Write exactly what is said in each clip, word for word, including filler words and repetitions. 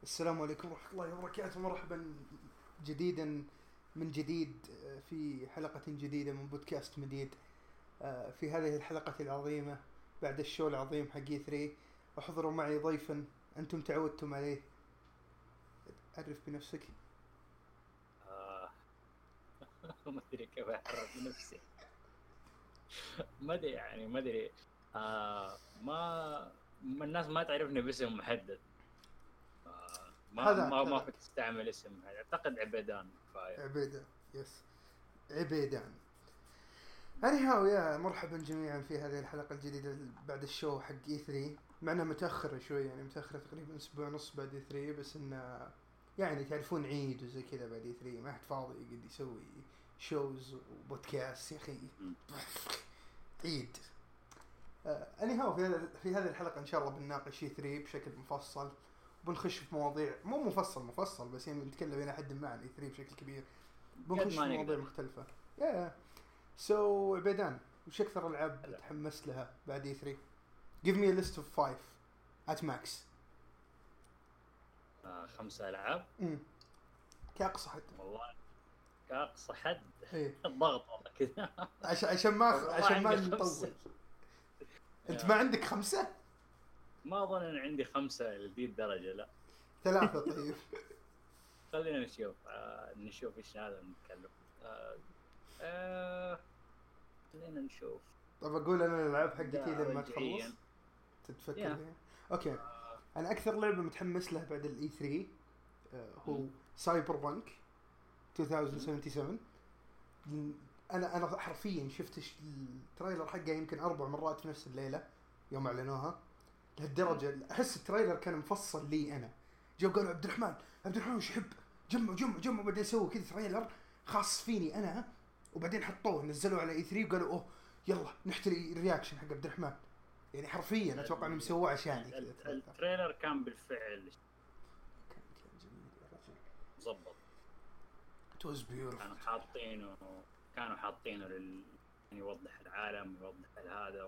السلام عليكم ورحمة الله وبركاته. مرحبا جديدا من جديد في حلقة جديدة من بودكاست مديد. في هذه الحلقة العظيمة بعد الشو العظيم حق ثري احضروا معي ضيفا أنتم تعودتم عليه. عرف بنفسك. آه. ما ادري كيف اعرف نفسي. ما ادري يعني ما ادري. آه ما ما الناس ما تعرفني باسم محدد. آه ما هذاك ما ما هذاك كنت استعمل اسم محدد. اعتقد عبيدان كفايه. عبيدة. يس، عبيدان. أني هاو يا مرحبا جميعا في هذه الحلقة الجديدة بعد الشو حق اي ثري. معنا متأخر شوي، يعني متأخر تقريبا أسبوع ونص بعد اي ثري، بس إنه يعني تعرفون عيد وزي كذا بعد اي ثري ما حد فاضي يقعد يسوي شوز وبودكاست يا أخي. م. عيد. أني هاو في هذا في هذه الحلقة إن شاء الله بنناقش اي ثري بشكل مفصل، وبنخش في مواضيع مو مفصل مفصل بس يعني بنتكلم إلى حد ما عن اي ثري بشكل كبير. قد بنخش في ما مواضيع نقدر. مختلفة. يا سو عبيدان، وش أكثر ألعاب هلا. تحمست لها بعد اي ثري؟ Give me a list of five at max. آه خمسة العاب. امم كأقصى حد. والله كاقصى حد. ايه، الضغط والله كذا. عشان عشان ما والله عشان ما عندي نطول. خمسة. انت ما يا. عندك خمسة؟ ما اظن ان عندي خمسة لذي الدرجة، لا. ثلاثة طيب. خلينا نشوف آه نشوف ايش هذا نتكلم. آه آه خلينا نشوف. طب اقول انا الالعاب حقتي ده لما تخلص رجعيا. تتفكر يا. فيها. اوكي، آه. انا اكثر لعبة متحمس لها بعد الاي ثري هو م- سايبر بانك م- ألفين وسبعة وسبعين. انا انا حرفيا شفت الش- التريلر حقه يمكن اربع مرات في نفس الليلة يوم اعلنوها. م. لهالدرجة احس التريلر كان مفصل لي انا. جو قالوا عبد الرحمن عبد الرحمن وش يحب، جمعوا جمعوا جمعوا بعدين سووا كذا تريلر خاص فيني انا، وبعدين حطوه نزلوا على اي ثري وقالوا اوه يلا نحتري الرياكشن حق عبد الرحمن. يعني حرفيا اتوقع انهم ال- سووه عشاني ال- كذا ال- التريلر. التريلر كان بالفعل كان كان جميل يا رجل. مظبط. It was كانوا beautiful. حاطينه كانوا حاطينه لل يعني يوضح العالم، يوضح هذا.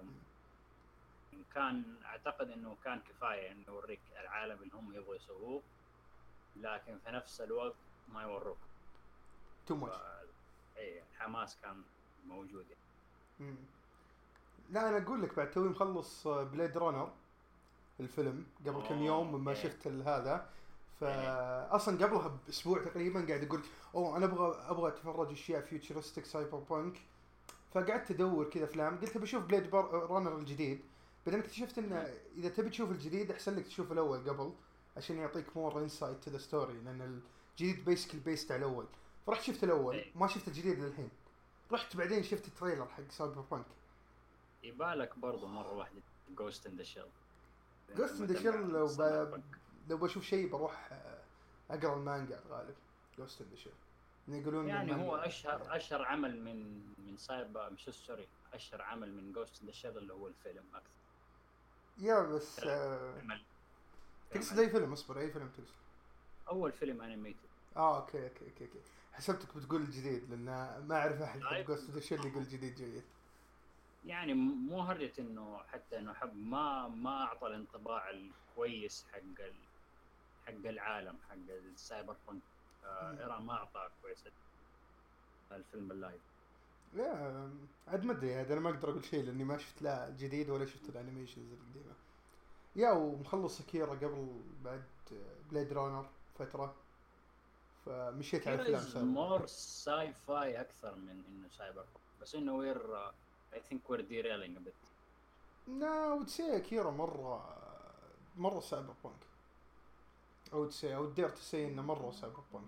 كان اعتقد انه كان كفايه انه يوريك العالم اللي هم يبغوا يسووه، لكن في نفس الوقت ما يوروك. Too much. اي الحماس كان موجود يعني. مم. لا انا اقول لك بعد توي مخلص بليد رانر الفيلم قبل كم يوم مما اوكي. شفت هذا. إيه. فاصلا قبلها باسبوع تقريبا قاعد اقول اوه انا ابغى ابغى اتفرج اشياء فيوتشرستك سايبر بانك. فقعدت ادور كذا افلام، قلت بشوف بليد رانر الجديد. بعدين اكتشفت ان اذا تبي تشوف الجديد احسن لك تشوف الاول قبل عشان يعطيك مور انسايت تو ذا ستوري، لان الجديد بيسكلي بيست على الاول. فرحت شفت الاول، إيه. ما شفت الجديد للحين. رحت بعدين شفت التريلر حق سايبر بانك. يبالك برضو مره واحده جوست ان ذا شيل. جوست ان ذا شيل لو ب... لو بشوف شيء بروح اقرا المانجا الغالب. جوست ان ذا شيل يقولون يعني هو المانجا اشهر اشهر عمل من من سايبر مش سوري اشهر عمل من جوست ان ذا شيل اللي هو الفيلم اكثر. يا بس آه... عمل تقصد اي فيلم؟ اصبر، اي فيلم تقصد؟ اول فيلم انيميتد. اه اوكي اوكي اوكي, أوكي. حسبتك بتقول الجديد لان ما اعرف احد يحب طيب. جوست ان ذا شيل يقول جديد جيد. يعني مو هرجة انه حتى انه حب ما ما اعطى الانطباع الكويس حق ال... حق العالم حق السايبر بانك. آه ايران ما اعطى كويس الفيلم اللايف. لا عاد ما ادري، هذا انا ما اقدر اقول شيء لاني ما شفت لا الجديد ولا شفت الانيميشنز القديمه. يا ومخلص اكيرا قبل بعد بليد رانر فتره، فمشيت على كيرا افلام از سايبر بانك. مور ساي فاي اكثر من انه سايبر بانك، بس انه وير اي ثينك وير ديريلينج ا بيت. لا وتسي اكيرا مره مره سايبر بانك. او تسي او دير تسي انه مره سايبر بانك.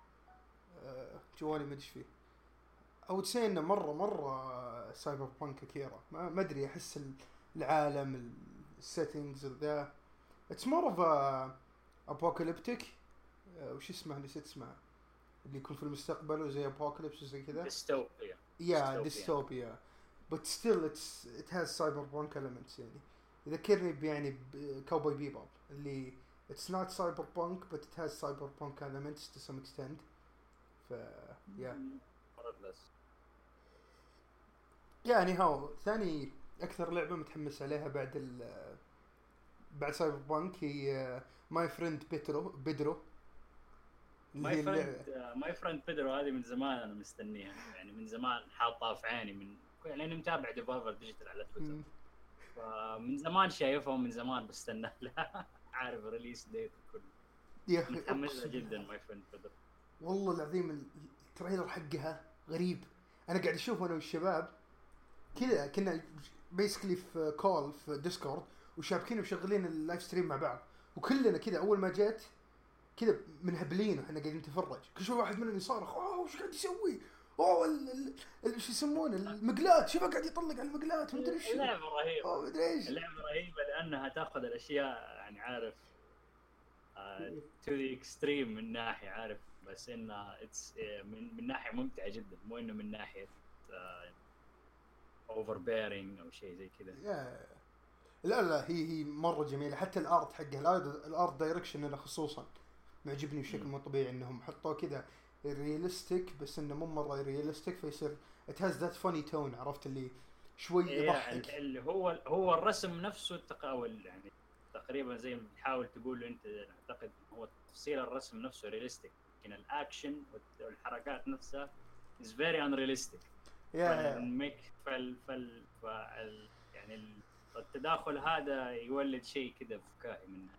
أه جوالي ما ادري فيه. او تسي انه مره مره سايبر بانك اكيرا. ما ما ادري، احس العالم السيتنجز ذا اتس مور اوف ابوكاليبتيك. وش اسمه نسيت اسمه، اللي يكون في المستقبل وزي ابوكاليبس وزي كذا. ديستوبيا. يا ديستوبيا. but still it's it has cyberpunk elements يعني. يذكرني يعني بكاوبوي بيبوب اللي it's not cyberpunk but it has cyberpunk elements to some extent. ف yeah. بس يعني هاو ثاني اكثر لعبة متحمس عليها بعد ال بعد سايبر بانك هي ماي فريند بيترو بيدرو اللي ماي هي فريند اللعبة. ماي فريند بيدرو هذه من زمان انا مستنيها، يعني من زمان حاطها في عيني، من يعني انا متابع ديفولفر ديجيتال على تويتر، مم. فمن زمان شايفها ومن زمان بستنى لها. عارف ريليس ديت وكله. يا اخي متحمس لها اقسم جدا بالله، ماي فريند بيدرو. والله العظيم التريلر حقها غريب. انا قاعد اشوف انا والشباب كذا، كنا بيسكلي في كول في ديسكورد وشابكين وشغالين اللايف ستريم مع بعض، وكلنا كذا اول ما جت كذا منهبلين واحنا قاعدين نتفرج، كل شوي واحد مننا يصارخ اوه وش قاعد يسوي، اوه ال- ال- ال- شو يسمونه المقلاة، شوفه قاعد يطلق على المقلاة ومدري ايش، اللعبه رهيبه، اوه مدري ايش. اللعبه رهيبه لانها تاخذ الاشياء يعني عارف تو ذا اكستريم من ناحيه، عارف بس انها اتس من من ناحيه ممتعه جدا، مو انه من ناحيه اوفر بيرنج او شيء زي كذا. يا لا لا هي هي مره جميله، حتى الارت حقها الارت, الارت دايركشن انا خصوصا معجبني بشكل مو طبيعي، انهم حطوه كذا رياليستيك بس انه مو مره رياليستيك، فيصير ات هاز ذات فاني تون، عرفت اللي شوي إيه ال- يضحك. اللي هو هو الرسم نفسه التقاول يعني تقريبا زي ما بتحاول تقول انت، اعتقد هو تفصيل الرسم نفسه رياليستيك، لكن الاكشن والحركات نفسها is very unrealistic. يا فالميك فال فال فال يعني التداخل هذا يولد شيء كذا فكاهي منه.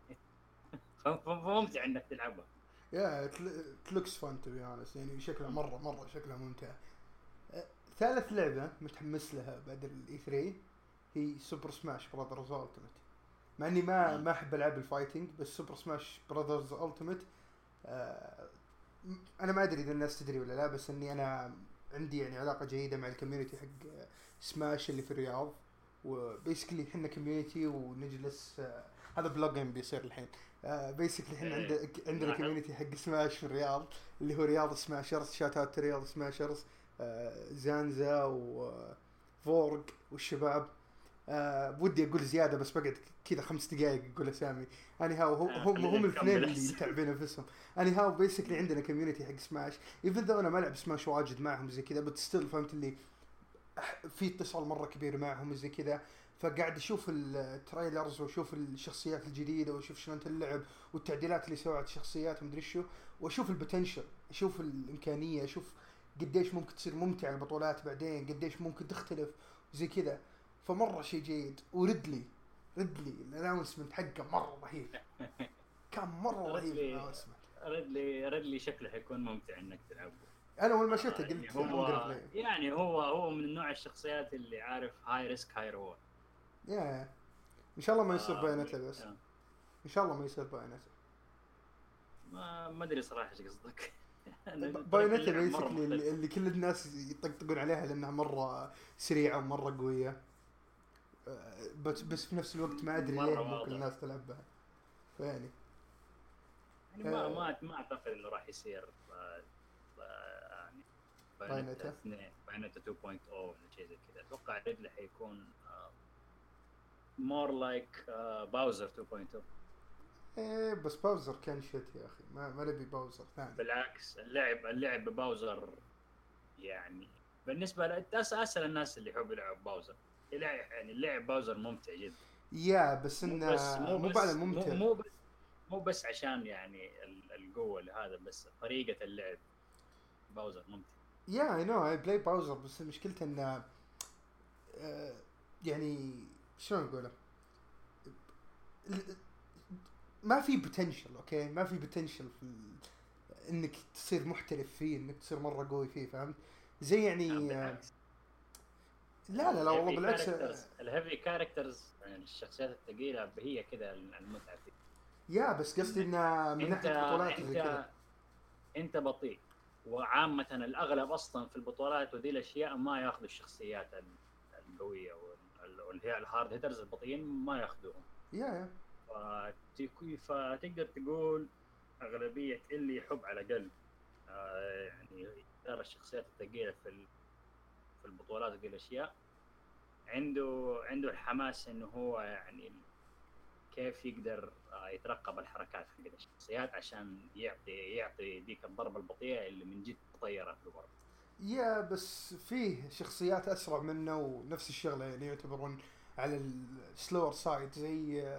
فممتع انك تلعبها. يا لوكس فان تو بي اونست، يعني شكلها مره مره شكلها ممتع. أه، ثالث لعبه متحمس لها بعد الاي ثري هي سوبر سماش براذرز التيمت، مع اني ما ما احب العاب الفايتنج، بس سوبر سماش براذرز التيمت آه انا ما ادري اذا الناس تدري ولا لا، بس اني انا عندي يعني علاقه جيده مع الكوميونتي حق سماش اللي في الرياض، وبيسكلي احنا كوميونتي ونجلس آه هذا بلوجين بيصير الحين. آه بيسكلي احنا إيه، عند عندنا لاحظ. كوميونتي حق سماش في الرياض اللي هو رياض سماشرز، شات اوت رياض سماشرز، آه زانزا وفورج والشباب. آه بودي اقول زياده بس بقعد كذا خمس دقائق اقول اسامي. اني هاو آه، هم خلينا هم الاثنين نكمل اللي أحسن. متعبين نفسهم. اني هاو بيسكلي عندنا كوميونتي حق سماش، ايفن ذو انا ما العب سماش واجد معهم زي كذا، بس ستيل فهمت اللي أح- في اتصال مره كبير معهم زي كذا. فقاعد اشوف التريلرز واشوف الشخصيات الجديده واشوف شلون اللعب والتعديلات اللي سوت الشخصيات ومدري شو، واشوف البوتنشل، اشوف الامكانيه، اشوف قديش ممكن تصير ممتع البطولات بعدين، قديش ممكن تختلف زي كذا. فمره شيء جيد. وريدلي ريدلي الاناونسمنت حقه مره رهيب، كان مره رهيب ريدلي الاناونسمنت. ريدلي ريدلي شكله حيكون ممتع انك تلعبه. انا اول ما آه شفته يعني قلت I'm gonna هو play. يعني هو هو من نوع الشخصيات اللي عارف هاي ريسك هاي ريورد. يا ان شاء الله ما يصير آه بايونيتا، بس ان شاء الله ما يصير بايونيتا. ما ما ادري صراحه ايش قصدك. طريقه بايونيتا اللعب مره بيسكلي اللي, مختلفه. اللي كل الناس يطقطقون عليها لانها مره سريعه ومره قويه، أه، بس بس في نفس الوقت ما ادري مره ليه ممكن واضح. الناس تلعب بها، فيعني يعني ما أه ما ما اعتقد انه راح يصير آه، آه، يعني بايونيتا بايونيتا. اثنين بايونيتا تو بوينت او ولا شيء زي كذا. اتوقع ريدلي حيكون مور لايك باوزر تو بوينت او. ايه بس باوزر كان شت يا اخي، ما ما نبي باوزر ثاني. بالعكس اللعب اللعب بباوزر يعني بالنسبه لاسهل الناس اللي يحب يلعب باوزر، يلعب يعني اللعب باوزر ممتع جدا. يا بس مو انه بس مو مو بعد بس مو ممتع. مو بس مو بس عشان يعني ال- القوه لهذا، بس طريقه اللعب باوزر ممتع. يا اي نو اي بلاي باوزر، بس مشكلته انه أه يعني شلون اقوله، ما في بوتنشل. اوكي ما في بوتنشل في ال... انك تصير محترف فيه، انك تصير مره قوي فيه، فهمت؟ زي يعني آه، بالعكس لا لا لا والله الهيفي بالعكس. كاركترز الهيفي كاركترز يعني الشخصيات الثقيله هي كذا المتعه فيه. يا بس قصدي انك انه من انت ناحيه بطولات زي كذا. انت انت بطيء، وعامه الاغلب اصلا في البطولات وذي الاشياء ما ياخذوا الشخصيات القويه وال- واللي هي الهارد هيترز البطيئين ما ياخذوهم. يا يا فتك- فتقدر تقول اغلبيه اللي يحب على الاقل آه، يعني يختار الشخصيات الثقيله في ال- في البطولات وذي الاشياء، عنده عنده الحماس انه هو يعني كيف يقدر آه، يترقب الحركات حق الشخصيات عشان يعطي يعطي ديك الضربه البطيئه اللي من جد تطيرها في الورق. يا بس فيه شخصيات اسرع منه ونفس الشغله، يعني يعتبرون على السلور سايد، زي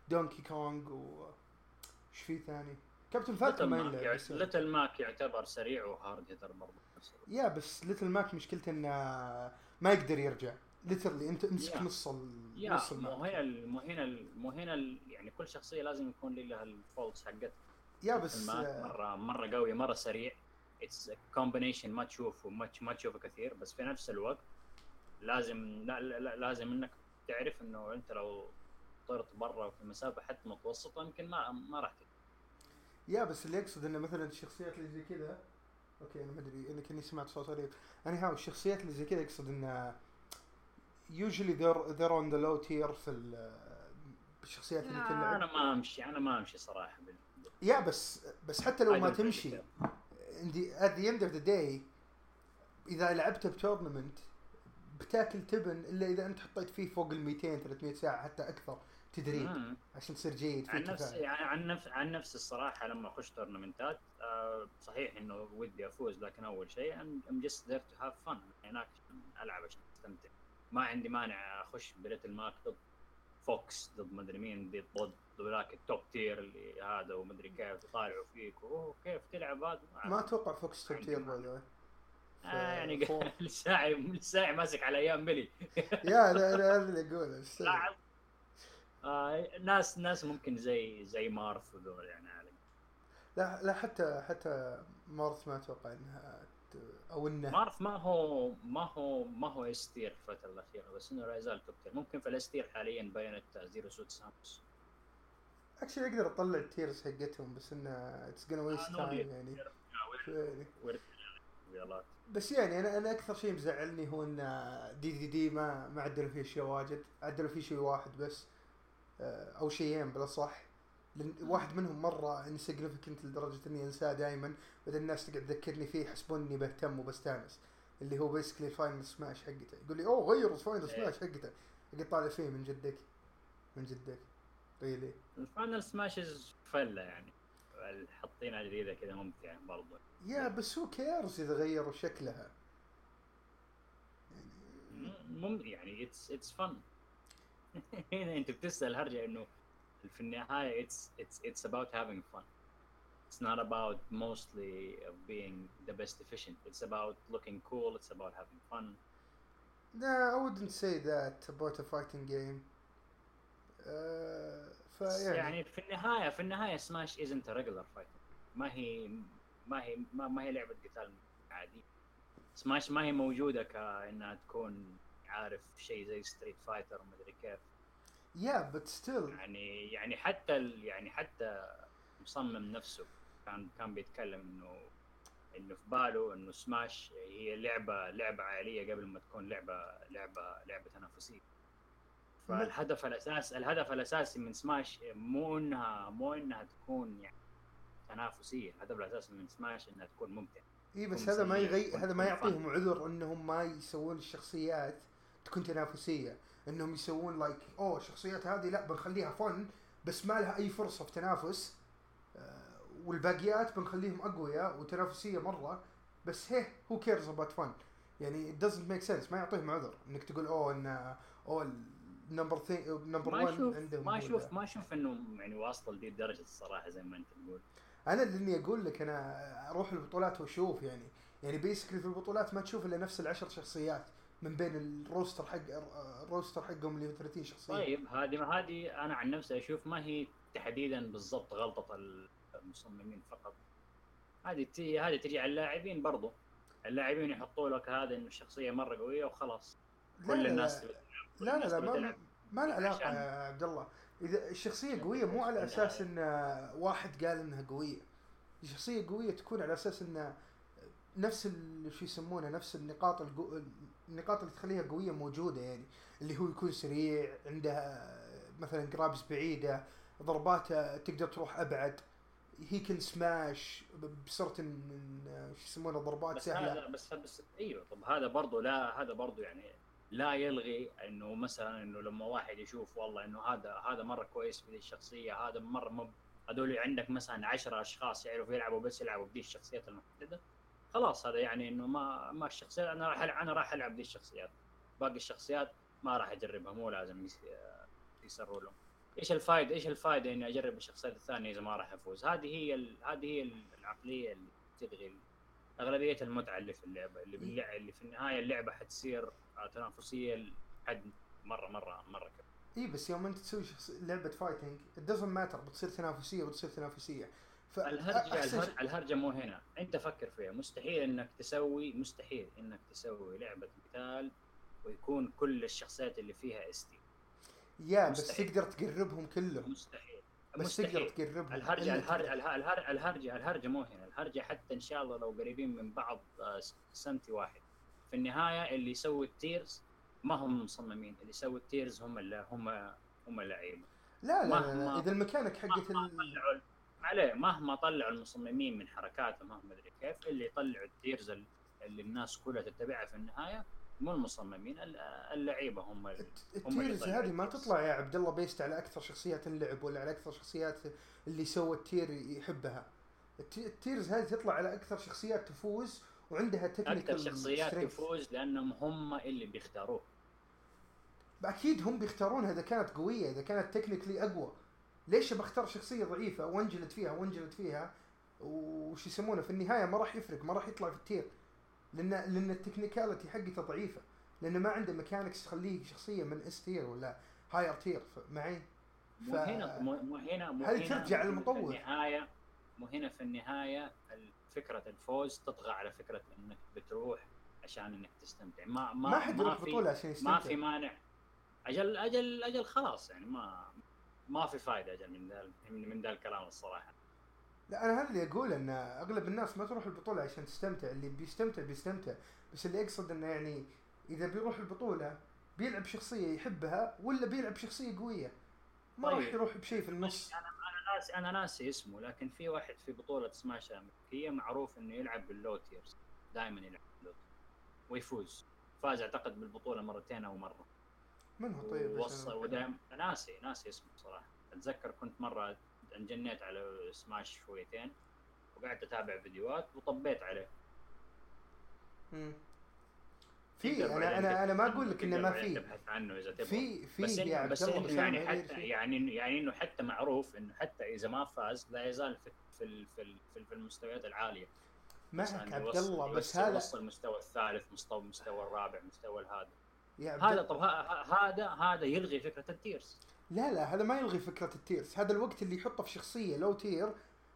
دونكي كونغ وش في ثاني كابتن فالكون ما يلعب بس ليتل ماك يعتبر سريع وهارد هيتر برضه. يا بس ليتل ماك مشكلته انه ما يقدر يرجع ليترلي انت امسك يا. نص ال... يا نص مو الماك. هنا ال- مو هنا ال- مو هنا ال- يعني كل شخصيه لازم يكون لها الفولتس حقتها. يا بس مره مره قوي مره سريع. اتس كومبينيشن ما تشوفه ما ما تشوفه كثير، بس في نفس الوقت لازم لا لا لازم انك تعرف انه انت لو طرت برا في مسافه حتى متوسطه يمكن ما ما راح. يا بس اللي يقصد انه مثلا الشخصيات اللي زي كذا، اوكي انا ما ادري انا كني سمعت صوت غريب. انا هاو الشخصيات اللي زي كذا يقصد انه usually they're they're on the low tier في الشخصيات اللي تلعب. انا ما امشي انا ما امشي صراحه بال... يا بس بس حتى لو ما تمشي عندي at the end of the day اذا لعبت بتورنمنت بتاكل تبن الا اذا انت حطيت فيه فوق ال مئتين ثلاثمية ساعه حتى اكثر تدريب مم. عشان تصير جيد في عن نفسي كفاءة. يعني عن نفس عن نفس الصراحه لما اخش تورنمنتات آه صحيح انه ودي افوز، لكن اول شيء I'm just there to have fun. هناك العب عشان استمتع. ما عندي مانع اخش بليتل ماك ضد فوكس ضد مدري مين ضد ضد ذاك التوب تير اللي هذا ومدري كيف يطالعوا فيك اوه كيف تلعب هذا. ما اتوقع فوكس توب تير باي آه يعني الساعي الساعي ماسك على ايام ملي. يا لا لا هذا اللي اقوله لاعب آه ناس ناس ممكن زي زي مارث وذول يعني علي. لا لا حتى حتى مارث ما اتوقع انها او انه مارث ما هو ما هو ما هو استير في الفتره الاخيره، بس انه لا يزال توب تير. ممكن في الاستير حاليا بينت زيرو سوت سامس اكشلي اقدر اطلع التيرز حقتهم بس انه اتس جونا ويست تايم يعني. يعني بس يعني انا انا اكثر شيء مزعلني هو ان دي دي دي ما ما عدلوا فيه شيء واجد، عدلوا فيه شيء واحد بس او شيئين بلا صح. لأن واحد منهم مره انسيجنيفيكنت لدرجه اني انساه دائما، بدل الناس تقعد تذكرني فيه يحسبون اني بهتم وبستانس، اللي هو بيسكلي فاينل سماش حقته. يقول لي اوه غيروا فاينل سماش حقته، اقعد طالع فيه من جدك من جدك ريلي. الفاينل سماشز فله يعني حاطينها جديده كذا ممتعه برضه. يا بس هو كيرز اذا غيروا شكلها يعني مم يعني اتس اتس فن. هنا انت بتسال هرجه انه في النهايه it's it's it's about having fun. It's not about mostly of being the best efficient. It's about looking cool. It's about having fun. No, I wouldn't say that about a fighting game. Uh, فيعني يعني في النهايه في النهايه سماش isn't a regular fight. ما هي ما هي ما, ما هي لعبه قتال عادي. سماش ما هي موجوده كانها تكون عارف شيء زي ستريت فايتر ومدري كيف. Yeah, but still. يعني يعني حتى ال يعني حتى مصمم نفسه كان كان بيتكلم انه انه في باله انه سماش هي لعبه لعبه عائليه قبل ما تكون لعبه لعبه لعبه تنافسيه. فالهدف الاساسي الهدف الاساسي من سماش مو انها مو انها تكون يعني تنافسيه. الهدف الاساسي من سماش انها تكون ممتعه. اي بس هذا ما يغي هذا ما يعطيهم عذر انهم ما يسوون الشخصيات تكون تنافسيه، انهم يسوون لايك like, اوه الشخصيات هذه لا بنخليها فن بس ما لها اي فرصه في تنافس، آه والباقيات بنخليهم اقوياء وتنافسيه مره بس هي هو كيرز اباوت فن. يعني it doesn't make sense. ما يعطيهم عذر انك تقول اوه ان اوه نمبر ثري نمبر واحد عندهم. ما اشوف ما اشوف انه يعني واصل لدي الدرجه الصراحه زي ما انت تقول. انا اللي اقول لك انا اروح البطولات واشوف يعني يعني بيسكلي في البطولات ما تشوف الا نفس العشر شخصيات من بين الروستر حق الروستر حقهم اللي ثلاثين شخصيه. طيب هذه هذه انا عن نفسي اشوف ما هي تحديدا بالضبط غلطه المصممين فقط. هذه تي هذه تجي على اللاعبين برضو. اللاعبين يحطوا لك هذا انه الشخصيه مره قويه وخلاص كل الناس لا لا لا, لا ما ما له علاقه يا عبد الله. اذا الشخصيه قويه مو على اساس ان واحد قال انها قويه. الشخصيه قويه تكون على اساس ان نفس شو يسمونه نفس النقاط الجو... النقاط اللي تخليها قويه موجوده، يعني اللي هو يكون سريع، عنده مثلا جرابز بعيده، ضرباته تقدر تروح ابعد، هي كن سماش بصرت من شو يسمونه ضربات بس سهله. هذا بس بس ايوه طب هذا برضو لا هذا برضو يعني لا يلغي انه مثلا انه لما واحد يشوف والله انه هذا هذا مره كويس في الشخصيه، هذا مره مب هذول عندك مثلا عشرة اشخاص يعرفوا يلعبوا بس يلعبوا بدي الشخصيات المحدده، خلاص هذا يعني انه ما ما الشخصيات انا راح انا راح العب دي الشخصيات، باقي الشخصيات ما راح اجربها، مو لازم يسروا لهم. ايش الفائده ايش الفائده اني اجرب الشخصيات الثانيه اذا ما راح افوز؟ هذه هي ال... هذه هي العقليه اللي تلغي اغلبيه المتعه اللي في اللعبه، اللي باللعبه اللي في النهايه اللعبه حتصير تنافسيه لحد مره مره مره كبير. اي بس يوم انت تسوي شخص... لعبه فايتنج it doesn't matter، بتصير تنافسيه بتصير تنافسيه. الهرجه الهرجه الهرجه مو هنا، انت فكر فيها. مستحيل انك تسوي مستحيل انك تسوي لعبه قتال ويكون كل الشخصيات اللي فيها اس تي. يا بس تقدر تقربهم كلهم. مستحيل بس مستحيل. تقدر تقربهم. الهرجه الهرجه الهرجه الهرجه الهرجه مو هنا، الهرجه حتى ان شاء الله لو قريبين من بعض سنتي واحد، في النهايه اللي يسوي التيرز ما هم مصممين، اللي يسوي التيرز هم اللي هم هم اللعيبه. لا لا, لا, لا اذا الميكانيك حقت ال... عليه مهما طلعوا المصممين من حركاتهم مهما ادري كيف، اللي يطلعوا التيرز اللي الناس كلها تتبعها في النهايه مو المصممين، اللعيبه هم التيرز هذه ما تطلع يا عبد الله بيست على اكثر شخصيات اللعب ولا على اكثر شخصيات اللي سوى التير يحبها. التيرز هذه تطلع على اكثر شخصيات تفوز وعندها تكنيكال اكثر شخصيات تفوز لانهم هم اللي بيختاروه. اكيد هم بيختارونها اذا كانت قويه، اذا كانت تكنيكلي اقوى. ليش بختار شخصيه ضعيفه وانجلد فيها وانجلد فيها وش يسمونه في النهايه ما راح يفرق، ما راح يطلع في التير، لان لان التكنيكاليتي حقته ضعيفه، لانه ما عنده ميكانكس تخليه شخصيه من اس تير ولا هاير تير معي. ف... مو هنا مو هنا مو هل ترجع للمطور؟ في النهايه مو هنا في النهايه فكره الفوز تطغى على فكره انك بتروح عشان انك تستمتع. ما ما ما حد يروح بطوله عشان يستمتع. ما في مانع. اجل اجل اجل خلاص يعني ما ما في فائده اجل من ذا من ذا الكلام الصراحه. لا انا هذا اللي اقول ان اغلب الناس ما تروح البطوله عشان تستمتع، اللي بيستمتع بيستمتع، بس اللي اقصد انه يعني اذا بيروح البطوله بيلعب شخصيه يحبها ولا بيلعب شخصيه قويه، ما طيب. راح يروح بشيء في النص. انا انا ناسي انا ناسي اسمه، لكن في واحد في بطوله سماش امريكيه معروف انه يلعب باللو تيرز، دائما يلعب باللو ويفوز. فاز اعتقد بالبطوله مرتين او مره. من هو طيب؟ وصل ودائما ناسي ناسي اسمه صراحه. اتذكر كنت مره انجنيت على سماش شويتين وقعدت اتابع فيديوهات وطبيت عليه. امم في انا انا انا ما اقول لك انه ما في تبحث عنه اذا تبغى. في في بس يا بس, بس إنه يعني حتى يعني يعني انه حتى معروف انه حتى اذا ما فاز لا يزال في في في, في المستويات العاليه. معك عبد الله، بس هذا وصل المستوى الثالث، مستوى المستوى الرابع، مستوى هذا يا هذا طب هذا هذا يلغي فكره التيرز. لا لا هذا ما يلغي فكره التيرز. هذا الوقت اللي يحطه في شخصيه لو تير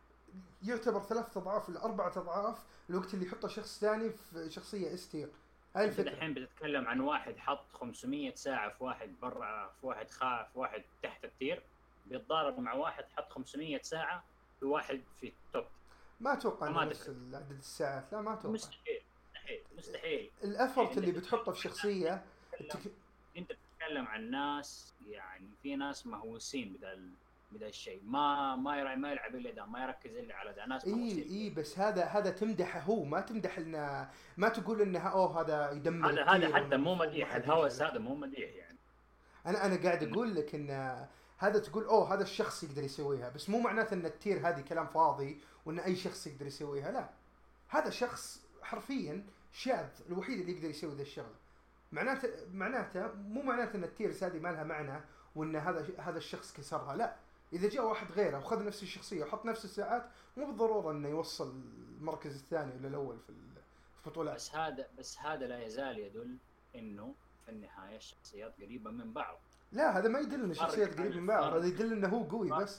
يعتبر ثلاث اضعاف ولا اربعه اضعاف الوقت اللي يحطه شخص ثاني في شخصيه اس تير. هاي الفكره. الحين بتتكلم عن واحد حط خمسمية ساعه في واحد برا، في واحد خاف، في واحد تحت التير، بيتضارب مع واحد حط خمسمية ساعه في واحد في التوب. ما اتوقع انه نفس عدد الساعات. لا ما اتوقع. مستحيل مستحيل مستحيل. الافورت يعني اللي بتحطه في شخصيه التك... انت بتتكلم عن ناس، يعني في ناس مهووسين بدا بدا الشيء، ما ما يرى ما يلعب الا ده، ما يركز الا على ده. ناس مهووسين. اي اي بس هذا هذا تمدحه هو، ما تمدح انه، ما تقول انه اوه هذا يدمر. هذا هذا حتى مو مديح، الهوس هذا مو مديح يعني. انا انا قاعد اقول لك ان هذا تقول اوه هذا الشخص يقدر يسويها، بس مو معناته ان التير هذه كلام فاضي وان اي شخص يقدر يسويها. لا، هذا شخص حرفيا شاذ، الوحيد اللي يقدر يسوي ذا الشغله. معناته معناته مو معناته ان التيرز هذه ما لها معنى وان هذا هذا الشخص كسرها. لا، اذا جاء واحد غيره وخذ نفس الشخصيه وحط نفس الساعات مو بالضروره انه يوصل المركز الثاني ولا الاول في البطولات. بس هذا بس هذا لا يزال يدل انه في النهايه الشخصيات قريبه من بعض. لا هذا ما يدل ان الشخصيات قريبه من بعض، هذا يدل انه هو قوي. بس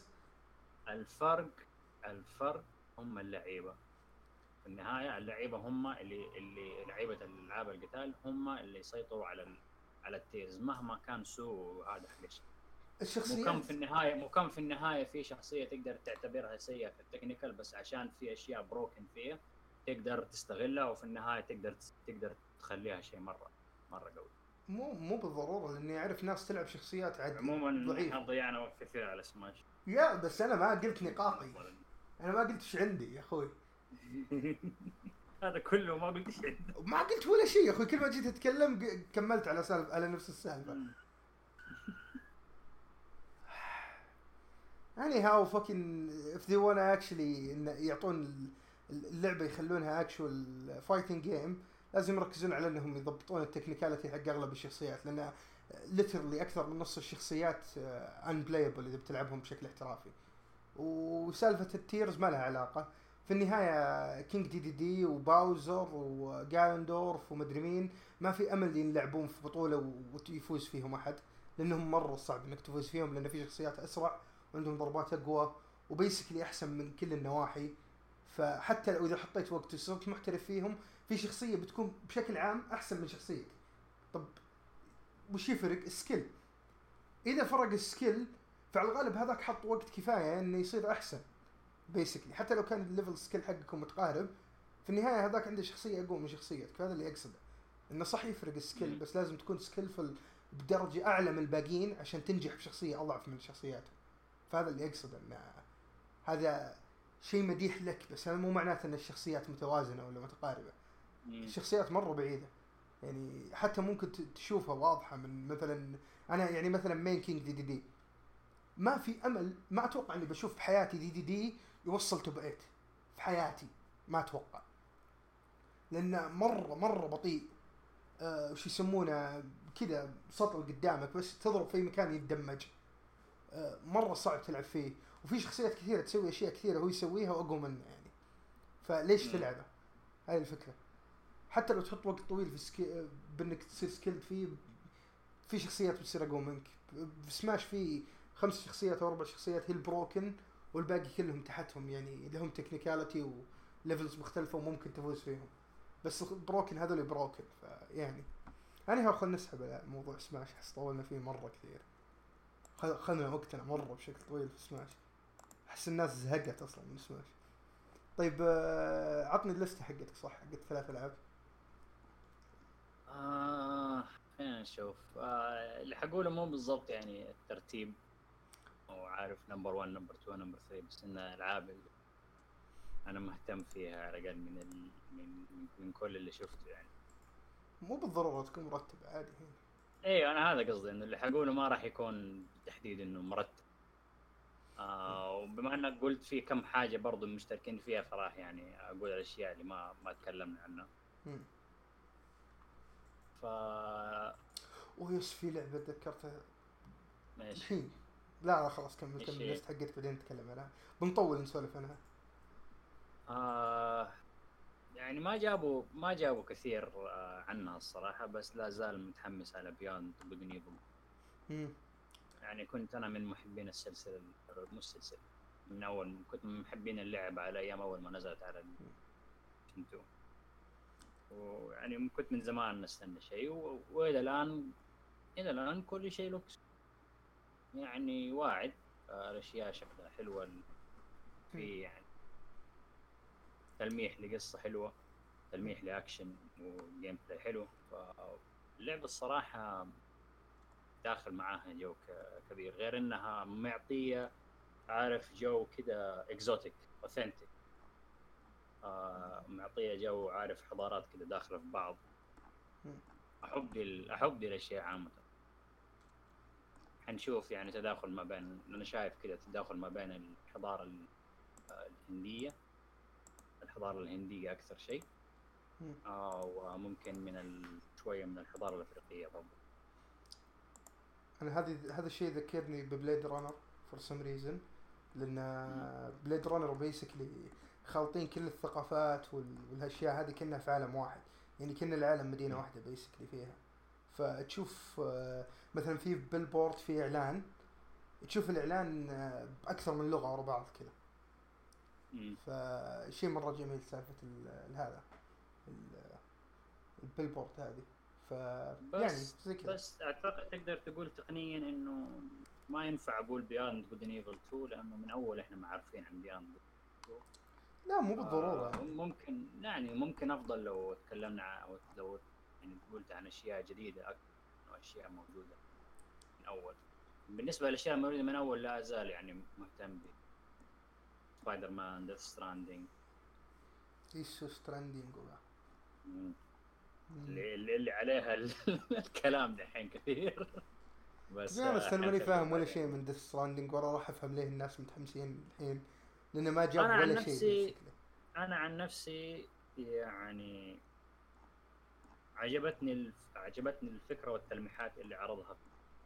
الفرق الفرق هم اللعيبه. في النهايه اللعيبه هم اللي اللي لعيبه الالعاب القتال هم اللي يسيطروا على على التيرز مهما كان سوء هذا حق الشخصيات. مو كم في النهايه مو كم في النهايه في شخصيه تقدر تعتبرها سيئه في التكنيكال، بس عشان في اشياء بروكن فيها تقدر تستغلها وفي النهايه تقدر تقدر تخليها شيء مره مره قوي. مو مو بالضروره، لاني اعرف ناس تلعب شخصيات عاديه. عموما احنا ضيعنا وقت كثير على سماش. يا بس انا ما قلت نقاطي، انا ما قلت ايش عندي يا اخوي. هذا كله ما قلت شيء. ما قلت ولا شيء يا اخوي، كل ما جيت اتكلم كملت على سالفه على نفس السالفه. يعني هاو fucking if they wanna actually يعطون اللعبه يخلونها actual fighting game لازم يركزون على انهم يضبطون التكنيكاليتي حق اغلب الشخصيات، لان ليترلي اكثر من نص الشخصيات ان بلايبل اذا بتلعبهم بشكل احترافي. وسالفه التيرز ما لها علاقه في النهايه. كينج دي دي دي وباوزر وجايندورف ومدري مين ما في امل يلعبون في بطوله ويفوز فيهم احد، لانهم مره صعب انك تفوز فيهم، لان في شخصيات اسرع وعندهم ضربات اقوى وبيسكلي احسن من كل النواحي. فحتى لو اذا حطيت وقت وصرت محترف فيهم، في شخصيه بتكون بشكل عام احسن من شخصيتك. طب وش يفرق؟ السكيل. اذا فرق السكيل فعلى الغالب هذاك حط وقت كفايه انه يصير احسن بيسكلي، حتى لو كان الليفل سكيل حقكم متقارب، في النهايه هذاك عنده شخصيه اقوى من شخصيتك. هذا اللي اقصده، انه صح يفرق السكيل بس لازم تكون سكيلفل بدرجه اعلى من الباقيين عشان تنجح بشخصيه اضعف من شخصياتهم. فهذا اللي اقصده، ان هذا شيء مديح لك، بس هذا مو معناته ان الشخصيات متوازنه ولا متقاربه. الشخصيات مره بعيده، يعني حتى ممكن تشوفها واضحه من مثلا انا يعني مثلا مين كينج دي دي دي ما في امل، ما اتوقع اني بشوف بحياتي دي دي دي يوصل توب ثمانية في حياتي، ما اتوقع، لانه مره مره بطيء. أه وش يسمونه كذا، سطل قدامك بس تضرب في مكان يتدمج. أه مره صعب تلعب فيه، وفي شخصيات كثيره تسوي اشياء كثيره هو يسويها واقوى منه يعني. فليش تلعبه؟ هاي الفكره. حتى لو تحط وقت طويل في سكي... بانك تصير سكيلد فيه، في شخصيات بتصير اقوى منك. في سماش في خمس شخصيات او اربع شخصيات هي البروكن، والباقي كلهم تحتهم يعني لهم تكنيكاليتي وليفلز مختلفه وممكن تفوز فيهم، بس بروكن هذول بروكن. فيعني انا هاخذ نسحب على موضوع سماش، حس طولنا فيه مره كثير، خذنا وقتنا مره بشكل طويل في سماش، احس الناس زهقت اصلا من سماش. طيب عطني الليسته حقتك، صح حقت ثلاث العاب. آه خلينا نشوف. آه اللي حقوله مو بالضبط يعني الترتيب، او عارف نمبر واحد نمبر اثنين نمبر ثلاثة، بس ان العاب انا مهتم فيها على الاقل من ال... من من كل اللي شفته يعني. مو بالضروره تكون مرتب، عادي هنا. ايوه انا هذا قصدي، انه اللي حقوله ما راح يكون بالتحديد انه مرتب. آه وبما انك قلت في كم حاجه برضو مشتركين فيها، فراح يعني اقول الاشياء اللي ما ما تكلمنا عنها. مم. ف ويس في لعبه تذكرتها ماشي الحين. لا لا خلاص كمل كمل الليست حقتك بعدين نتكلم عنها، بنطول نسولف عنها. آه يعني ما جابوا ما جابوا كثير آه عنها الصراحه، بس لا زال متحمس على بياند جود اند ايفل. يعني كنت انا من محبين السلسله، مو السلسله، من اول كنت من محبين اللعبه على ايام اول ما نزلت على النينتندو، ويعني كنت من زمان نستنى شيء، والى الان الى الان كل شيء لوكس يعني واعد. الاشياء شكلها حلوه، في يعني تلميح لقصه حلوه، تلميح لاكشن وجيم بلاي حلو. فاللعبه الصراحه داخل معاها جو كبير، غير انها معطيه عارف جو كده اكزوتيك اوثنتيك. آه معطيه جو عارف حضارات كده داخله في بعض. احب دي احب دي الاشياء عامه. حنشوف يعني تداخل ما بين، انا شايف كده تداخل ما بين الحضاره الهنديه الحضاره الهنديه اكثر شيء، آه وممكن من شويه من الحضاره الافريقيه برضه. انا هذه هذا الشيء ذكرني ببليد رانر فور سم ريزن، لان بليد رانر بيسكلي خالطين كل الثقافات والاشياء هذه كأنها في عالم واحد، يعني كأن العالم مدينه واحده بيسكلي فيها. فتشوف مثلا في بيلبورد في اعلان، تشوف الاعلان باكثر من لغه ورا بعض كذا، فشيء مره جميل سالفه هذا البيلبورد هذه. ف يعني زي كذا. بس اعتقد تقدر تقول تقنيا انه ما ينفع اقول بياند جود اند ايفل تو، لانه من اول احنا ما عارفين عن بياند. لا مو بالضروره. آه ممكن يعني ممكن افضل لو تكلمنا او لو يعني قلت عن اشياء جديده اكثر من اشياء موجوده من اول. بالنسبه للاشياء الموجوده من اول لا ازال يعني مهتم ب سبايدر مان، ديث ستراندينج، ايش ستراندينج اللي اللي عليها الكلام دحين كثير. بس انا انا ماني فاهم ولا شيء من ديث ستراندينج، ولا راح افهم ليه الناس متحمسين الحين، لانه ما جاب ولا شيء. انا عن نفسي يعني عجبتني الف... عجبتني الفكره والتلميحات اللي عرضها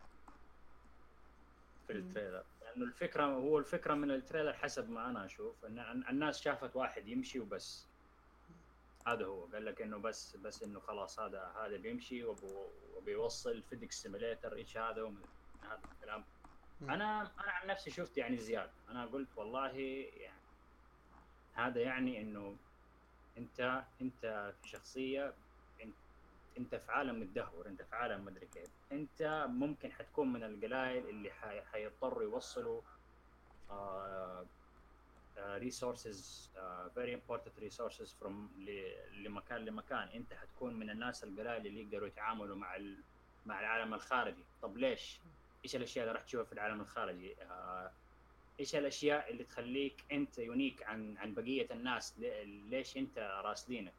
في التريلر، لانه الفكره هو الفكره من التريلر حسب ما انا اشوف ان الناس شافت واحد يمشي وبس. هذا هو قال لك انه بس بس انه خلاص هذا هذا بيمشي وبيوصل فيديكس سيميليتر ايش هذا ومن هذا الكلام. انا انا عن نفسي شفت يعني زياده، انا قلت والله يعني هذا يعني انه انت انت في شخصيه، انت, انت في عالم متدهور، انت في عالم مدري كيف، انت ممكن حتكون من القلائل اللي حيضطروا يوصلوا آه ريسورسز فيري امبورتنت ريسورسز فروم لمكان لمكان. انت حتكون من الناس القلائل اللي يقدروا يتعاملوا مع مع العالم الخارجي. طب ليش؟ ايش الاشياء اللي راح تشوفها في العالم الخارجي؟ آه ايش الاشياء اللي تخليك انت يونيك عن عن بقيه الناس؟ ليش انت راسلينك؟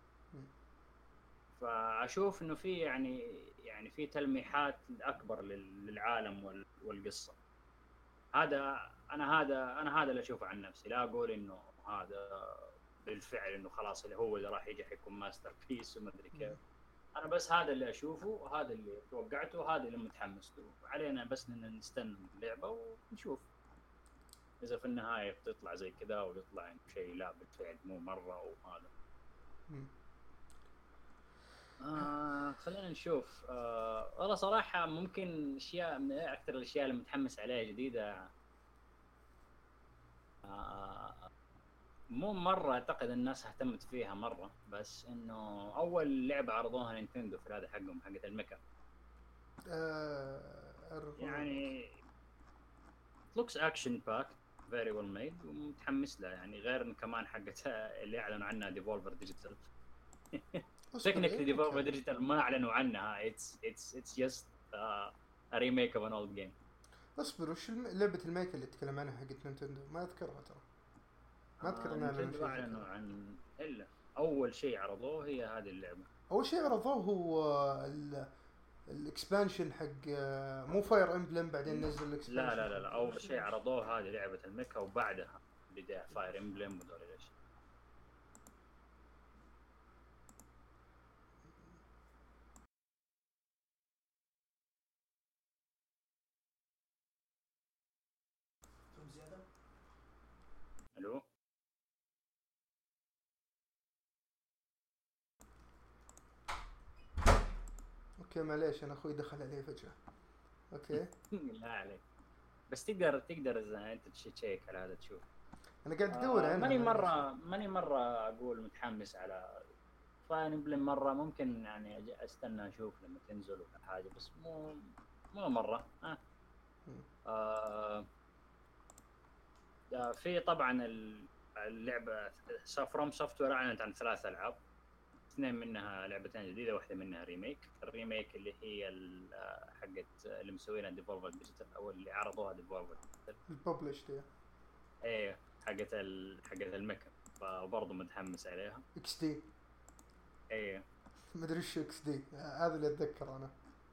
فاشوف انه في يعني يعني في تلميحات اكبر للعالم والقصه. هذا انا هذا انا هذا اللي اشوفه عن نفسي، لا اقول انه هذا بالفعل انه خلاص اللي هو اللي راح يجي حيكون ماستر بيس وما ادري كيف. انا بس هذا اللي اشوفه وهذا اللي توقعته وهذا اللي متحمس له. علينا بس ان نستنى اللعبه ونشوف اذا في النهايه بتطلع زي كذا ويطلع يعني شيء لا بالفعل مو مره وهذا. آه خلينا نشوف. آه والله صراحه ممكن اشياء من اكثر الاشياء اللي متحمس عليها جديده. آه مو مرة أعتقد الناس اهتمت فيها مرة، بس إنه أول لعبة عرضوها نينتندو في هذا حقهم حقة الميكا. آه يعني looks action packed very well made ومتحمس لها يعني. غير إن كمان حقة اللي أعلنوا عنها ديفولفر ديجيتال. technically ديفولفر ديجيتال ما أعلنوا عنها. it's it's it's just uh, a remake of an old game. اصبر، وش لعبة الميكا اللي تكلم عنها حقت نينتندو؟ ما اذكرها ترى. ما اذكر ان نينتندو اعلنوا عن الا اول شيء عرضوه هي هذه اللعبه. اول شيء عرضوه هو الاكسبانشن حق مو فاير امبلم، بعدين نزل الاكسبانشن. لا لا لا, لا. اول شيء عرضوه هذه لعبه الميكا وبعدها بدا فاير امبلم ودول الاشياء. الو اوكي معليش انا اخوي دخل علي فجأة. اوكي لا عليك، بس تقدر تقدر اذا انت تشيك على هذا تشوف. انا قاعد ادور عنها. آه ماني مره ماني مره اقول متحمس على فاير امبلم مره. ممكن يعني استنى اشوف لما تنزل ولا حاجه، بس مو مو مره. آه. آه في طبعا اللعبه فروم سوفت وير اعلنت عن ثلاث العاب، اثنين منها لعبتين جديده واحده منها ريميك. الريميك اللي هي حقت اللي مسوينها ديفولفر ديجيتال او اللي عرضوها ديفولفر الببلش دي ايه حقت ال... حقت الميكا، فبرضه متحمس عليها. اكس دي ايه ما ادري ايش اكس دي هذا اللي اتذكر انا.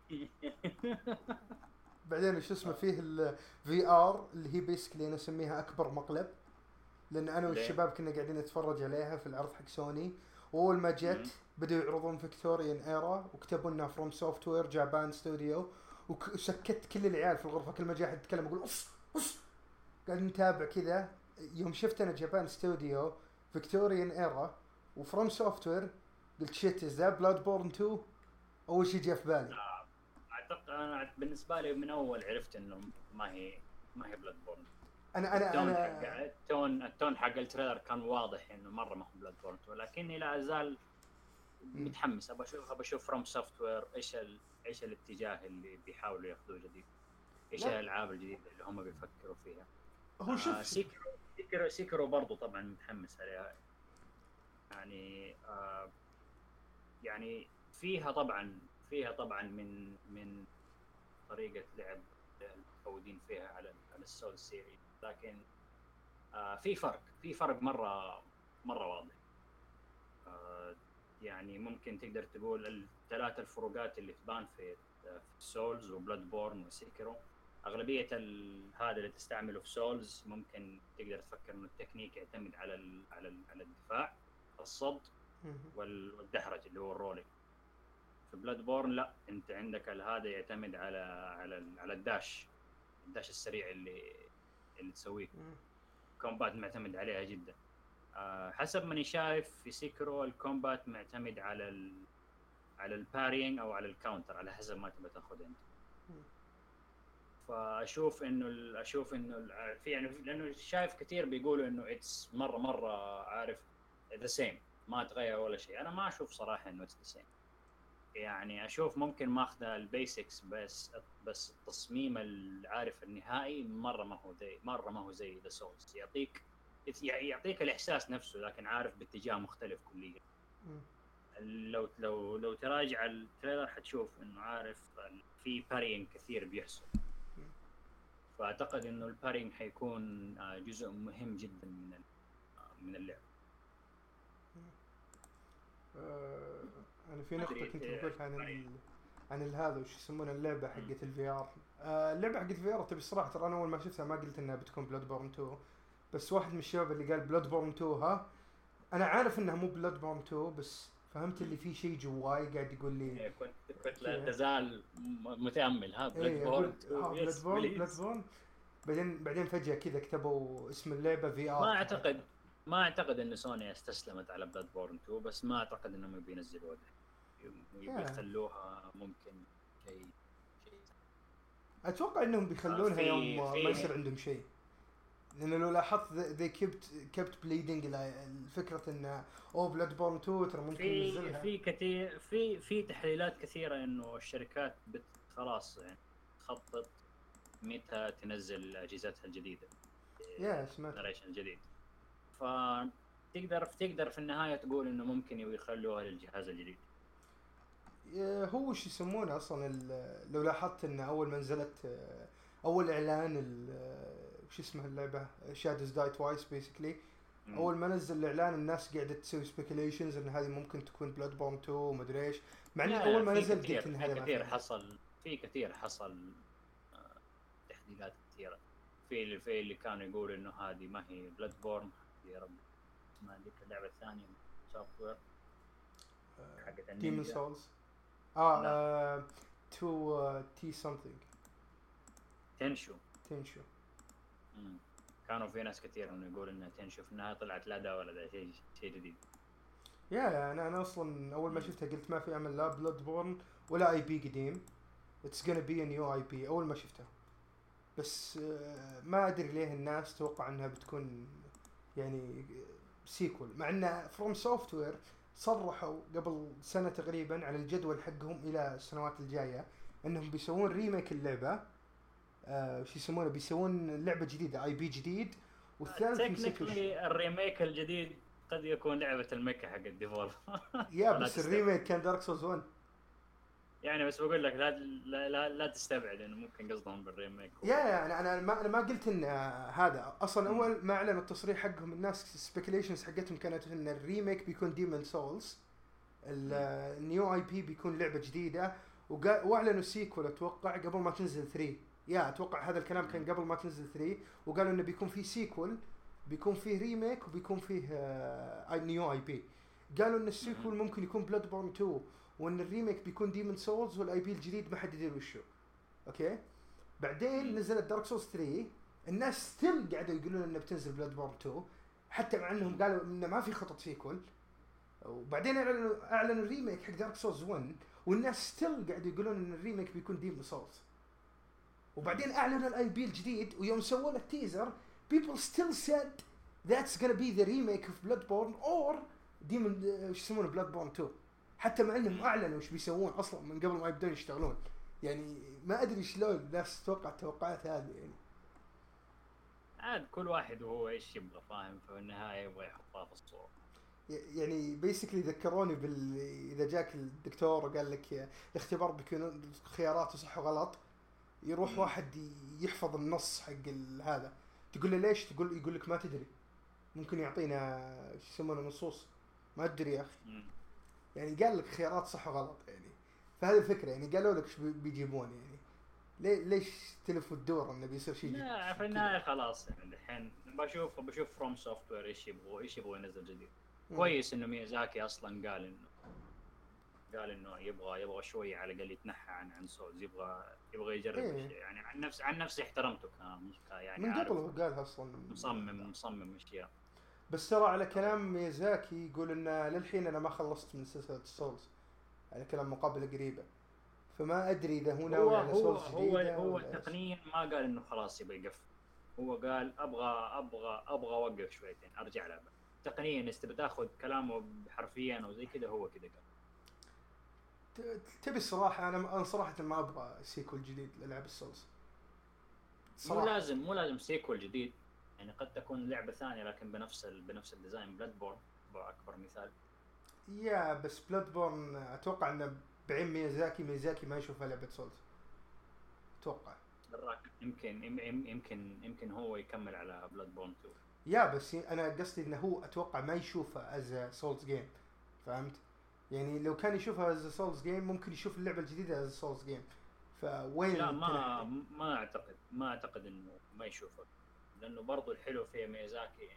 بعدين شو اسمه فيه الفي ار اللي هي بيسكلي انا اسميها اكبر مقلب، لان انا والشباب كنا قاعدين نتفرج عليها في العرض حق سوني، واول ما جت بدأوا يعرضون فيكتوريان ايرا وكتبوا لنا فروم سوفت وير جابان ستوديو، وسكت كل العيال في الغرفه. كل ما جاء حد يتكلم اقول اوف اوف. قاعد نتابع كذا. يوم شفت انا جابان ستوديو فيكتوريان ايرا وفروم سوفت وير قلت شيت از ذا بلاد بورن تو. اول شيء جاء في بالي. اعتقد انا بالنسبه لي من اول عرفت انه ما هي ما هي بلاد بورن. انا انا التون انا حق التون التون حق التريلر كان واضح انه مره ما هو بلاد بورن، ولكني لا ازال متحمس. ابى اشوف ابى اشوف فروم سوفت وير ايش ال... ايش الاتجاه اللي بيحاولوا ياخذوه جديد، ايش الالعاب الجديده اللي هم بيفكروا فيها. هو شوف آه سيكرو سيكرو سيكرو برضو طبعا متحمس عليها. يعني آه يعني فيها طبعا فيها طبعا من من طريقه لعب المتعودين فيها على على السول سيريز، لكن آه في فرق في فرق مره مره واضح. آه يعني ممكن تقدر تقول الثلاث الفروقات اللي تبان في في سولز وبلاد بورن وسيكرو. اغلبيه هذا اللي تستعمله في سولز ممكن تقدر تفكر انه التكنيك يعتمد على ال على ال على الدفاع، الصد والدحرج اللي هو الرولينج. في بلاد بورن لا، انت عندك هذا يعتمد على على على الداش الداش السريع اللي اللي تسويه. كومبات معتمد عليها جدا. أه حسب ماني شايف في سيكرو الكومبات معتمد على ال على البارينج او على الكاونتر على حسب ما تبغى تاخذ انت. فاشوف انه اشوف انه في يعني لانه شايف كثير بيقولوا انه اتس مره مره عارف ذا سيم، ما تغير ولا شيء. انا ما اشوف صراحه انه اتس ذا سيم، يعني اشوف ممكن ماخذه البيسكس بس بس التصميم العارف النهائي مره ما هو زي مره ما هو زي ذا سولز. يعطيك يعطيك الاحساس نفسه لكن عارف باتجاه مختلف كليا. لو لو لو تراجع التريلر حتشوف انه عارف في بارينج كثير بيحصل. فاعتقد انه البارينج حيكون جزء مهم جدا من من اللعبه. آه انا في نقطه كنت بقولها عن ال... عن هذا وش يسمونه اللعبه حقت الفي ار. آه اللعبه حقت الفي ار تبي الصراحه ترى انا اول ما شفتها ما قلت انها بتكون بلاد بورن تو، بس واحد من الشباب اللي قال بلاد بورن تو ها انا عارف انها مو بلاد بورن تو بس فهمت اللي فيه شيء جواي قاعد يقول لي. كنت كنت لا تزال متامل ها بلاد بورن بلاد بورن بلاد بورن بعدين بعدين فجاه كذا كتبوا اسم اللعبه في ار. ما اعتقد ما اعتقد ان سوني استسلمت على بلاد بورن تو، بس ما اعتقد انهم بينزلوها يخلوها ممكن شيء شيء اتوقع انهم بيخلونها يوم ما يصير عندهم شيء، لانه لو لاحظت ذي كبت كبت بليدنج الفكره ان او بلاد بورن تو ترى ممكن ينزلها. في كثير في في تحليلات كثيره انه الشركات بت خلاص يعني تخطط متى تنزل اجهزتها الجديده يا سمعت جنريشن جديد، فتقدر تقدر في النهايه تقول انه ممكن يخلوها للجهاز الجديد. هو وش يسمونه اصلا لو لاحظت ان اول ما نزلت اول اعلان وش اسمها اللعبه شادوز داي توايس بيسكلي، اول ما نزل الاعلان الناس قاعده تسوي سبيكيليشنز ان هذه ممكن تكون بلاد بورن تو ومدري ايش، مع ان اول ما نزل قلت ان هذا كثير حصل في كثير حصل آه تحديثات كثيره في في اللي كانوا يقولوا انه هذه ما هي بلاد بورن، يا رب اسمها ذيك اللعبه الثانيه سوفت وير حقت ديمون سولز اه تو تي سمثينج تنشو تنشو امم كانوا في ناس كثير انه يقول انها تنشو في النهايه طلعت لا ده ولا ده شيء شيء جديد. يا انا انا اصلا اول ما شفتها قلت ما في امل لا بلاد بورن ولا اي بي قديم، اتس gonna be a new اي بي اول ما شفتها، بس ما ادري ليه الناس توقع انها بتكون يعني سيكول، مع ان فروم سوفت وير صرحوا قبل سنه تقريبا على الجدول حقهم الى السنوات الجايه انهم بيسوون ريميك اللعبه آه وش يسمونه بيسوون لعبه جديده اي بي جديد، والثالث تكنيكلي الريميك الجديد قد يكون لعبه المكه حق الديفولف يا بس الريميك كان دارك سولز واحد يعني، بس بقول لك لا لا لا, لا تستبعد انه ممكن قصدهم بالريميك. يا يا انا انا ما انا ما قلت ان هذا اصلا اول ما اعلنوا التصريح حقهم الناس سبيكيليشنز حقتهم كانت ان الريميك بيكون ديمون سولز، النيو اي بي بيكون لعبه جديده، واعلنوا سيكول اتوقع قبل ما تنزل ثري. يا اتوقع هذا الكلام كان قبل ما تنزل ثري، وقالوا انه بيكون في سيكول بيكون فيه ريميك وبيكون فيه آه نيو اي بي. قالوا ان السيكول ممكن يكون بلاد بورن تو، وان الريميك بيكون ديمون سولز، والاي بي الجديد ما حد يدري وشو. اوكي بعدين نزلت دارك سولز ثري، الناس ستيل قاعدوا يقولون انه بتنزل بلاد بورن تو حتى مع انهم قالوا انه ما في خطط سيكول، وبعدين اعلنوا اعلنوا الريميك حق دارك سولز واحد والناس ستيل قاعدوا يقولون ان الريميك بيكون ديمون سولز، وبعدين اعلنوا الاي بي الجديد ويوم سووا له التيزر people still said that's gonna be the remake of Bloodborne or Demon ايش يسمونه Bloodborne تو، حتى مع انهم اعلنوا ايش بيسوون اصلا من قبل ما يبدون يشتغلون. يعني ما ادري شلون الناس تتوقع التوقعات هذه، يعني عاد كل واحد وهو ايش يبغى فاهم، في النهايه يبغى يحطها في الصوره. يعني بيسكلي ذكروني بال اذا جاك الدكتور وقال لك الاختبار بيكون خياراته صح وغلط، يروح مم. واحد يحفظ النص حق هذا تقول له ليش، تقول يقول لك ما تدري، ممكن يعطينا ايش يسمونه نصوص ما ادري يا اخي. مم. يعني قال لك خيارات صح وغلط، يعني فهذه الفكره، يعني قالوا لك ايش بيجيبون، يعني ليه ليش تلف الدور انه بيصير شيء. لا في النهايه خلاص يعني الحين بشوف بشوف فروم سوفت وير ايش يبغوا ايش يبغوا ينزل جديد. مم. كويس انه ميازاكي اصلا قال انه قال انه يبغى يبغى شويه على الاقل يتنحى عن عن سولز، يبغى يبغى يجرب إيه. الشيء يعني. عن نفس عن نفسي احترمته كان يعني من عارف قبل هو قالها اصلا. مصمم مصمم اشياء. بس ترى على كلام ميازاكي يقول ان للحين انا ما خلصت من سلسله السولز، على كلام مقابله قريبه، فما ادري اذا هو هو ناوي على هو سولز هو جديده هو ولا ايش. تقنيا ما قال انه خلاص يبغى يقفل. هو قال ابغى ابغى ابغى اوقف شويتين ارجع لعبه. تقنيا اذا بتاخذ كلامه حرفيا او زي كذا هو كذا قال. ت- تبي الصراحه، انا انا صراحه ما ابغى سيكول جديد للعب السولز مو صراحه. لازم مو لازم سيكول جديد، يعني قد تكون لعبه ثانيه لكن بنفس ال... بنفس الديزاين. بلاد بورن اكبر مثال. يا بس بلاد بورن اتوقع انه بعين ميازاكي ميازاكي ما يشوفها لعبه سولز اتوقع. دراك يمكن يم- يم- يمكن يمكن هو يكمل على بلاد بورن تو. يا بس انا قصدي انه هو اتوقع ما يشوفها از سولز جيم، فهمت؟ يعني لو كان يشوفها از سولز جيم ممكن يشوف اللعبه الجديده از سولز جيم، فوين لا ما التنحي؟ ما اعتقد ما اعتقد انه ما يشوفه، لانه برضو الحلو في ميازاكي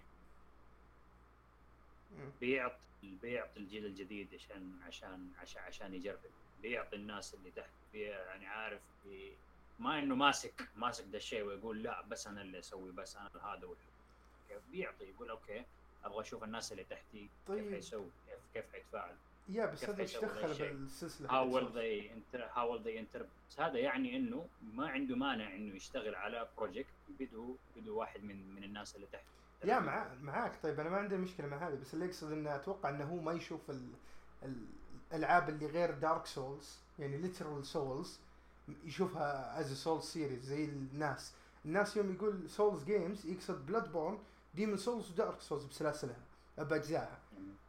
مم. بيعطي بيعطي الجيل الجديد عشان عشان عشان عشان يجرب، بيعطي الناس اللي تحت بي يعني عارف بي ما انه ماسك ماسك ده الشيء ويقول لا بس انا اللي اسوي بس انا هذا والحلو. كيف بيعطي يقول اوكي ابغى اشوف الناس اللي تحتي كيف طيب حيسوي، كيف كيف حيتفاعل، يا بس كيف هذا ايش حيسوي ذا دخل الشيء. بالسلسله how حقت will سولز؟ they inter how will they inter هذا يعني انه ما عنده مانع انه يشتغل على بروجكت بدو بدو واحد من من الناس اللي تحت. يا مع معاك. طيب انا ما عندي مشكله مع هذا، بس اللي يقصد انه اتوقع انه هو ما يشوف ال... ال- الالعاب اللي غير دارك سولز، يعني ليترال سولز، يشوفها از سولز سيريز زي الناس. الناس يوم يقول سولز جيمز يقصد بلاد بورن، ديمون سولز ودارك سولز بسلاسلها باجزائها.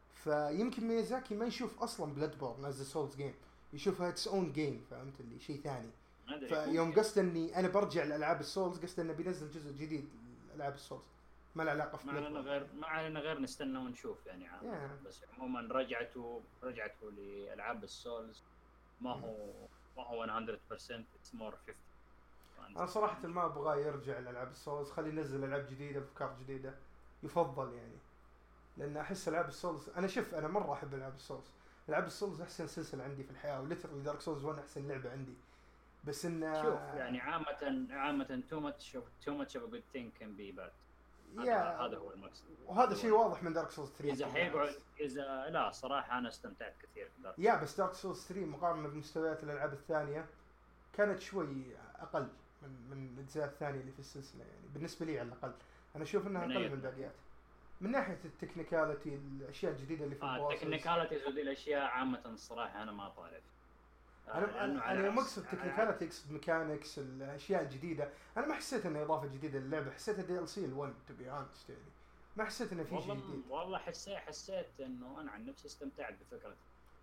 فيمكن ميازاكي ما يشوف اصلا بلاد بورن از سولز جيم، يشوفها اتس اون جيم، فهمت اللي شيء ثاني. ما ادري فيوم ممكن. قصد اني انا برجع لالعاب السولز، قصد انه بينزل جزء جديد لالعاب السولز، ما له علاقه في ما بلاد علينا بورن. غير ما علينا غير نستنى ونشوف يعني عامة. Yeah. بس عموما رجعته رجعته لألعاب السولز ما هو ما هو مية بالمية it's more fifty. انا صراحه ما ابغى يرجع لالعاب السولز، خليه ينزل العاب جديده بافكار جديده يفضل يعني. لان احس العاب السولز، انا شوف انا مره احب العاب السولز. العاب السولز احسن سلسله عندي في الحياه، وليترلي دارك سولز واحد احسن لعبه عندي. بس ان شوف يعني عامة عامة too much of too much of a good thing can be bad. هذا يا هذا هو المقصد. وهذا شيء واضح من دارك سولز ثري. إذا حيقعد إذا لا صراحة أنا استمتعت كثير في دارك. يا بس دارك سولز ثري مقارنه بمستويات الالعاب الثانيه كانت شوي اقل من من الاجزاء الثانيه اللي في السلسله، يعني بالنسبه لي على الاقل انا اشوف انها من اقل أي من الباقيات. من ناحيه التكنيكاليتي، الاشياء الجديده اللي في آه البوسز. التكنيكاليتيز وذي الأشياء عامة الصراحة أنا ما طالع. آه انا لأنه انا على انا يوم عكس اقصد على تكنيكاليتي اقصد ميكانكس، الاشياء الجديده. انا ما حسيت انه اضافه جديده للعبه، حسيتها دي ال سي ال1 تو بي اونست يعني. ما حسيت انه في شيء والله جديد. والله حسيت حسيت انه انا عن نفسي استمتعت بفكره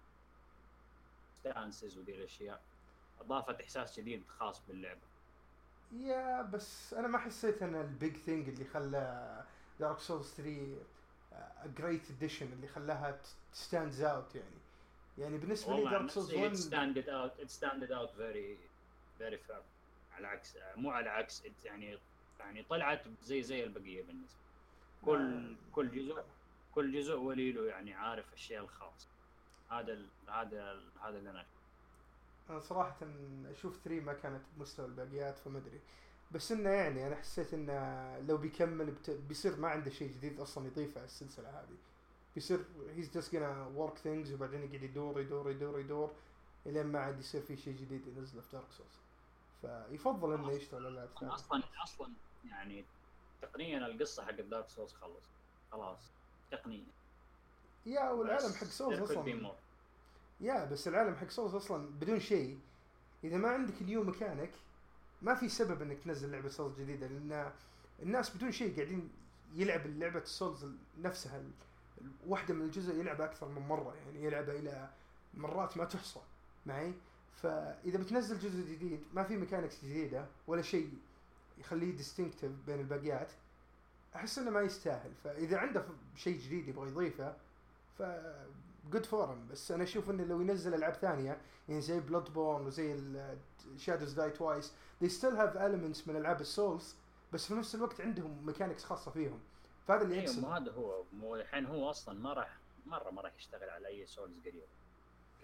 ستانسز ودي الاشياء، اضافت احساس جديد خاص باللعبه. يا بس انا ما حسيت ان البيج ثينج اللي خلى دارك سولز ثري جريت اديشن اللي خلاها ستاندز اوت يعني. يعني بالنسبه لي والله عن دارك سولز نفسي it واحد standed out it standed out very very firm. على عكس مو على عكس it يعني يعني طلعت زي زي البقيه بالنسبه. كل كل جزء كل جزء ولي له يعني عارف الشيء الخاص. هذا ال هذا ال هذا اللي انا انا صراحه اشوف ثري ما كانت بمستوى الباقيات، فما ادري. بس انه يعني انا حسيت انه لو بيكمل بت... بيصير ما عنده شيء جديد اصلا يضيفه على السلسله هذه. بيصير he's just gonna work things وبعدين يقعد يدور يدور يدور يدور الين ما عاد يصير في شيء جديد ينزله في دارك سولز. فيفضل انه يشتغل على العاب ثانيه. اصلا اصلا يعني تقنيا القصه حق دارك سولز خلص خلاص تقنيا. يا والعالم حق سولز اصلا يا بس العالم حق سولز اصلا بدون شيء. اذا ما عندك نيو ميكانيك ما في سبب انك تنزل لعبه سولز جديده، لان الناس بدون شيء قاعدين يلعب لعبه السولز نفسها. واحده من الجزء يلعب اكثر من مره، يعني يلعبها الى مرات ما تحصى معي. فاذا بتنزل جزء جديد ما في ميكانكس جديده ولا شيء يخليه ديستنكتيف بين الباقيات، احس انه ما يستاهل. فاذا عنده شيء جديد يبغى يضيفه ف جود فورم. بس انا اشوف انه لو ينزل العاب ثانيه يعني زي بلود بورن وزي شادوز داي توايس they still have elements من العاب السولز، بس في نفس الوقت عندهم ميكانكس خاصه فيهم. فهذا اللي يقصد. ايوه هذا هو. مو الحين هو اصلا ما راح مره ما راح يشتغل على اي سولز قريب.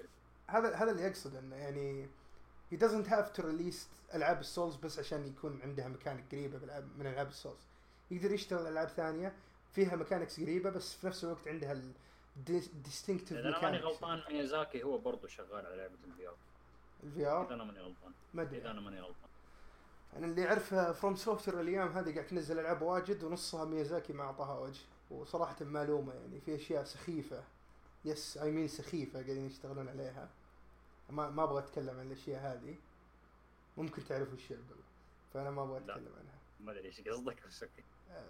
هذا هذا اللي يقصد انه يعني he doesn't have to release العاب السولز بس عشان يكون عندها ميكانيك قريبه بالعاب من العاب السولز. يقدر يشتغل العاب ثانيه فيها ميكانكس قريبه بس في نفس الوقت عندها ال distinctive اذا انا ماني mechanics. غلطان ميازاكي هو برضه شغال على لعبه الفي ار. الفي ار اذا انا ماني غلطان ما ادري. اذا انا ماني غلطان انا اللي اعرفه فروم سوفتوير الايام هذه قاعد تنزل العاب واجد ونصها ميازاكي ما اعطاها وجه، وصراحه معلومه يعني في اشياء سخيفه، يس اي مين سخيفه قاعدين يشتغلون عليها. ما ما ابغى اتكلم عن الاشياء هذه، ممكن تعرفوا الشيء بالله، فانا ما ابغى اتكلم عنها. ما ادري ايش قصدك بس اوكي.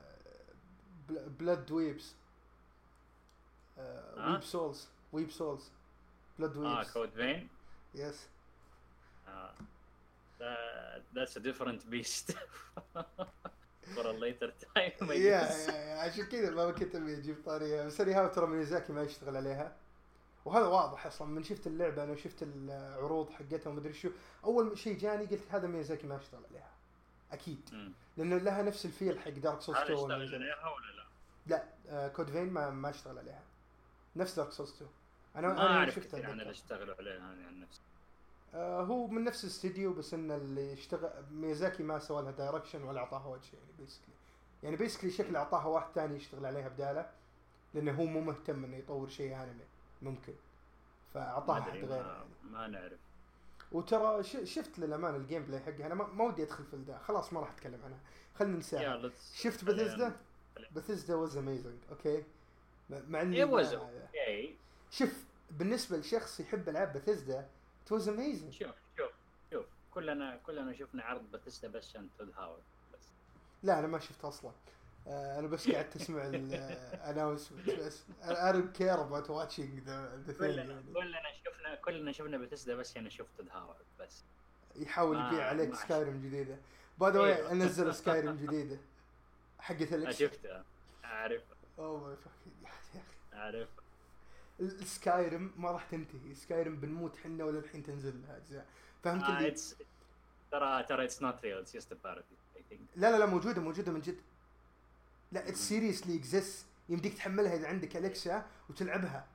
بلاد ويبس ويب سولز ويب سولز بلاد ويبس اه كود فين يس. آه. That, that's a different beast for a later time I يا guess. يا عشان كذا ما كنت ابي اجيب طاريها، بس هذه ترى ميازاكي ما يشتغل عليها، وهذا واضح اصلا من شفت اللعبه انا وشفت العروض حقتها وما ادري شو. اول شيء جاني قلت هذا ميازاكي ما يشتغل عليها اكيد، لانه لها نفس الفيل حق دارك سولز هل تو. اشتغل عليها ولا لا؟ لا آه كود فين ما ما اشتغل عليها، نفس دارك سولز تو. انا ما انا اعرف شفتها كثير عن اللي اشتغلوا عليها انا عن نفسي. آه هو من نفس الاستديو، بس ان اللي اشتغل ميازاكي ما سوى لها دايركشن ولا اعطاها وجه يعني بيسكلي. يعني بيسكلي شكل اعطاها واحد ثاني يشتغل عليها بداله، لانه هو مو مهتم انه يطور شيء انمي ممكن، فاعطاها حد غيره يعني. ما نعرف. وترى شفت للأمان الجيم بلاي حقها، انا ما ودي ادخل في الدا، خلاص ما راح اتكلم عنها، خلينا ننساها. شفت بثيسدا بثيسدا واز اميزنج اوكي، مع اني اوكي. شوف بالنسبه لشخص يحب العاب بثيسدا it was amazing. شوف شوف شوف كلنا كلنا شفنا عرض بثيسدا بس عشان تود هاورد بس. لا انا ما شفت اصلا، آه انا بس قاعد تسمع الاناونسمنت بس. I don't care about watching the the thing. كلنا كلنا شفنا كلنا شفنا بثيسدا بس عشان شفت تود هاورد بس. يحاول يبيع عليك سكايرم جديده. باي ذا واي انزل سكايرم جديده حقت الاكس. شفتها اعرف. اوه ماي فاكينج يا اخي اعرف. السكايرم ما راح تنتهي، سكايرم بنموت حنا ولا الحين تنزل لها اجزاء، فهمت اللي آه ترى ترى اتس نوت ريل اتس جاست ا بارودي اي ثينك. لا لا لا موجوده موجوده من جد. لا اتس سيريسلي اكزيست، يمديك تحملها اذا عندك الكسا وتلعبها.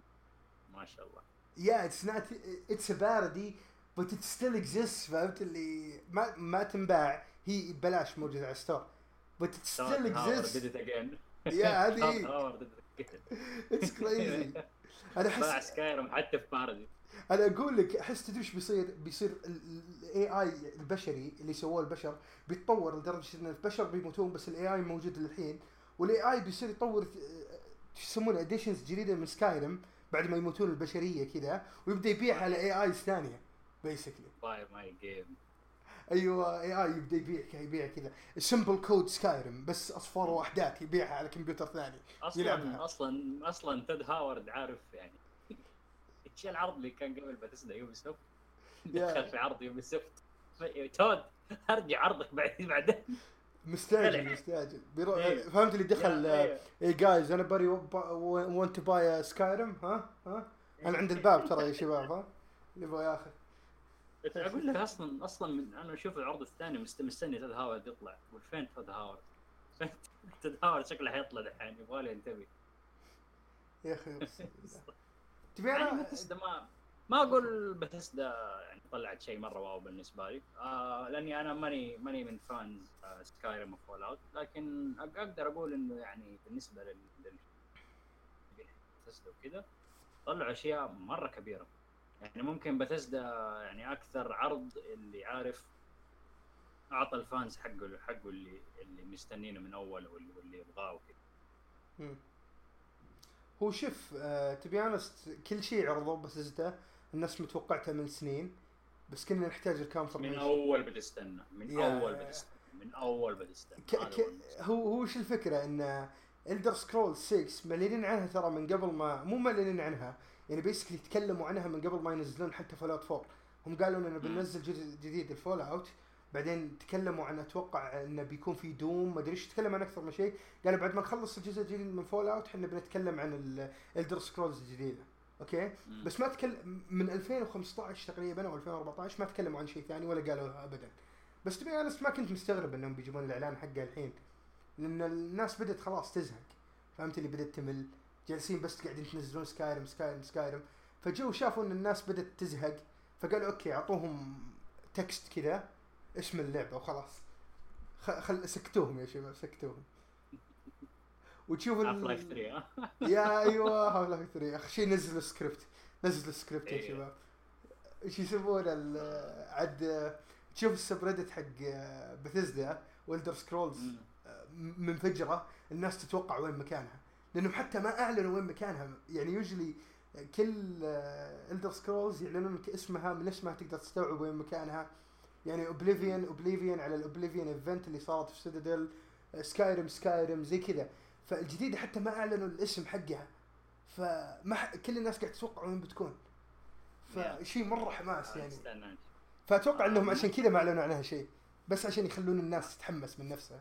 ما شاء الله. يا اتس نوت اتس ا بارودي بس ات ستيل اكزيست، فهمت اللي ما ما تنباع، هي ببلاش موجوده على ستور بس ات ستيل اكزيست. يا هذه اتس كريزي. انا احس باع سكايرم حتى في بارودي. انا اقول لك احس تدري ايش بيصير؟ بيصير الاي اي البشري اللي سووه البشر بيتطور لدرجه ان البشر بيموتون بس الاي اي موجود للحين، والاي اي بيصير يطور ايش يسمونه اديشنز جديده من سكايرم بعد ما يموتون البشريه كذا، ويبدا يبيعها على اي اي ثانيه بيسكلي. باي ماي جيم. ايوه اي اي يبدا يبيع يبيع كذا سمبل كود سكايرم بس اصفار ووحدات يبيعها على كمبيوتر ثاني. اصلا يلعبها. اصلا اصلا تد هاورد عارف يعني ايش العرض اللي كان قبل بثيسدا يوبي سوفت دخل في عرض يوبي سوفت تود ارجع عرضك بعد بعدين مستعجل مستعجل بيروح. فهمت اللي دخل اي جايز انا بري وانت تو باي سكايرم ها ها انا عند الباب ترى يا شباب ها اللي يبغى ياخذ. اقول لك اصلا اصلا من انا اشوف العرض الثاني مستني تد هاورد يطلع، والفين تد هاورد تد هاورد شكله حيطلع الحين يبغى له ينتبه يا اخي. تبي انا بثيسدا ما ما اقول بثيسدا يعني طلعت شيء مره واو بالنسبه لي، آه لاني انا ماني ماني من فانز آه سكايرم وفول اوت، لكن اقدر اقول انه يعني بالنسبه لل بثيسدا وكذا طلعوا اشياء مره كبيره. يعني ممكن بثيسدا يعني اكثر عرض اللي عارف اعطى الفانز حقه حقه اللي اللي مستنينه من اول واللي يبغاه وكذا. هو شوف آه تبي انست كل شيء عرضوه بثيسدا الناس متوقعتها من سنين، بس كنا نحتاج الكونفرميشن من اول بتستنى من اول بتستنى من اول بتستنى ك... ك... هو هو وش الفكره ان إلدر سكرول ستة معلنين عنها ترى من قبل ما مو معلنين عنها يعني بيسكلي تكلموا عنها من قبل ما ينزلون حتى فول اوت فور. هم قالوا انه بننزل جديد الفول اوت، بعدين تكلموا عن اتوقع انه بيكون في دوم ما ادري ايش، تكلم عن اكثر من شيء. قالوا بعد ما نخلص الجزء الجديد من فول اوت احنا بنتكلم عن الإلدر سكرولز الجديده اوكي. مم. بس ما تكلم من ألفين وخمسطعش تقريبا او ألفين وأربعطعش ما تكلموا عن شيء ثاني ولا قالوا ابدا. بس تبي انا ما كنت مستغرب انهم بيجيبون الاعلان حقه الحين، لان الناس بدت خلاص تزهق، فهمت اللي بدت تمل، جالسين بس قاعدين تنزلون سكايرم سكايرم سكايرم. فجو شافوا ان الناس بدت تزهق، فقالوا اوكي اعطوهم تكست كذا اسم اللعبه وخلاص. خل سكتوهم يا شباب سكتوهم. وتشوف هاف لايف ال... ثري ها. يا ايوه هاف لايف ثري اخر شيء نزلوا سكريبت، نزلوا سكريبت يا إيه. شباب. ايش يسمونه عد تشوف السبريدت حق بثيزدا والدر سكرولز مم. منفجره، الناس تتوقع وين مكانها لانهم حتى ما اعلنوا وين مكانها. يعني يوجلي كل الدر سكرولز يعلنون لك اسمها، من اسمها تقدر تستوعب وين مكانها. يعني اوبليفيون اوبليفيون على الاوبليفيون ايفنت اللي صارت في سيدادل، سكايرم سكايرم زي كذا. فالجديده حتى ما اعلنوا الاسم حقها، فما ح... كل الناس قاعد تتوقع وين بتكون. فشيء مره حماس يعني. فاتوقع آه، انهم عشان كذا ما اعلنوا عنها شيء، بس عشان يخلون الناس تتحمس من نفسها.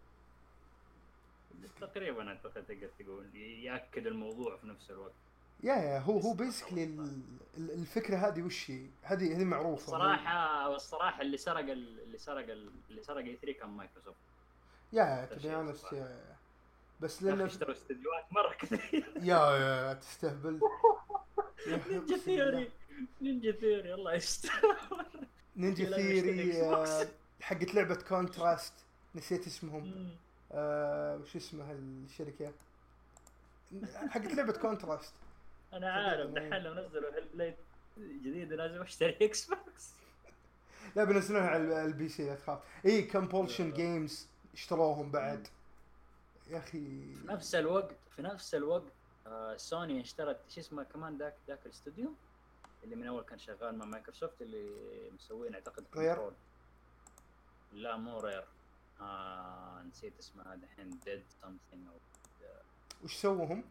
تقريبا اعتقد تقدر تقول ياكد الموضوع في نفس الوقت. يا يا هو هو بيسكلي الفكره هذه وش هي، هذه هذه معروفه الصراحه. والصراحه اللي سرق اللي سرق اللي سرق اي ثري كان مايكروسوفت. يا تبي انا بس لانه اشتروا استديوهات مره كثير. يا يا تستهبل. نينجا ثيوري نينجا ثيوري الله يستر. نينجا ثيوري حقت لعبه كونتراست نسيت اسمهم. آه وش اسمها الشركه حقت لعبه كونتراست؟ انا عارف دحين لو نزلوا هيل بليد جديد لازم اشتري اكس بوكس. لا بنزلوها على البي سي لا تخاف. اي كومبولشن جيمز اشتروهم بعد يا اخي. في نفس الوقت في نفس الوقت آه سوني اشترت شو اسمه كمان ذاك ذاك الاستوديو اللي من اول كان شغال مع مايكروسوفت اللي مسوين اعتقد كنترول. لا مو رير. آه نسيت اسمها دحين ديد سمثينج او وش سووهم؟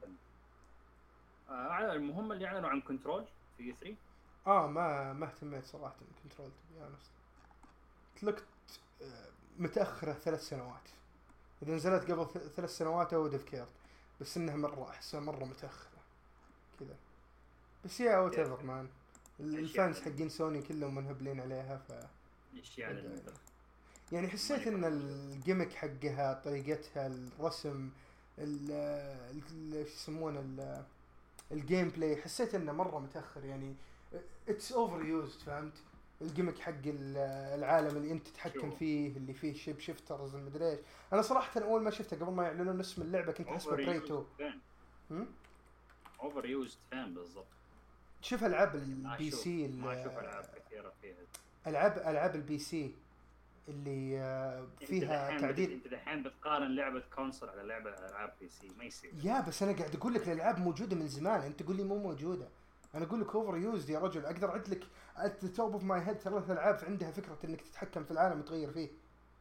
آه المهم اللي اعلنوا عن كنترول في ثري. اه ما ما اهتميت صراحه كنترول تبي انا تلقت متاخره ثلاث سنوات. اذا نزلت قبل ثلاث سنوات او ديف بس انها مره احسن مره متاخره كذا. بس يا وات ايفر مان الفانس حقين سوني كلهم منهبلين عليها. ف ايش يعني يعني حسيت ان الجيمك حقها طريقتها الرسم ال ايش يسمونه الجيم بلاي حسيت انه مره متاخر. يعني اتس اوفر يوزد فهمت. الجيمك حق العالم اللي انت تتحكم فيه اللي فيه شيب شيفترز المدري ايش. انا صراحه اول ما شفته قبل ما يعلنون اسم اللعبه كنت احسبه بريتو. اوفر يوزد فين بالضبط. شوف العاب البي سي ما اشوف العاب كثيره فيها. العاب العاب البي سي اللي فيها تعديل. انت الحين بتقارن لعبه كونسول على لعبه العاب بي سي ما يصير. يا بس انا قاعد اقول لك الالعاب موجوده من زمان انت تقول لي مو موجوده. انا اقول لك اوفر يوزد يا رجل. اقدر اعد لك at the top of my head ثلاث العاب عندها فكره انك تتحكم في العالم وتغير فيه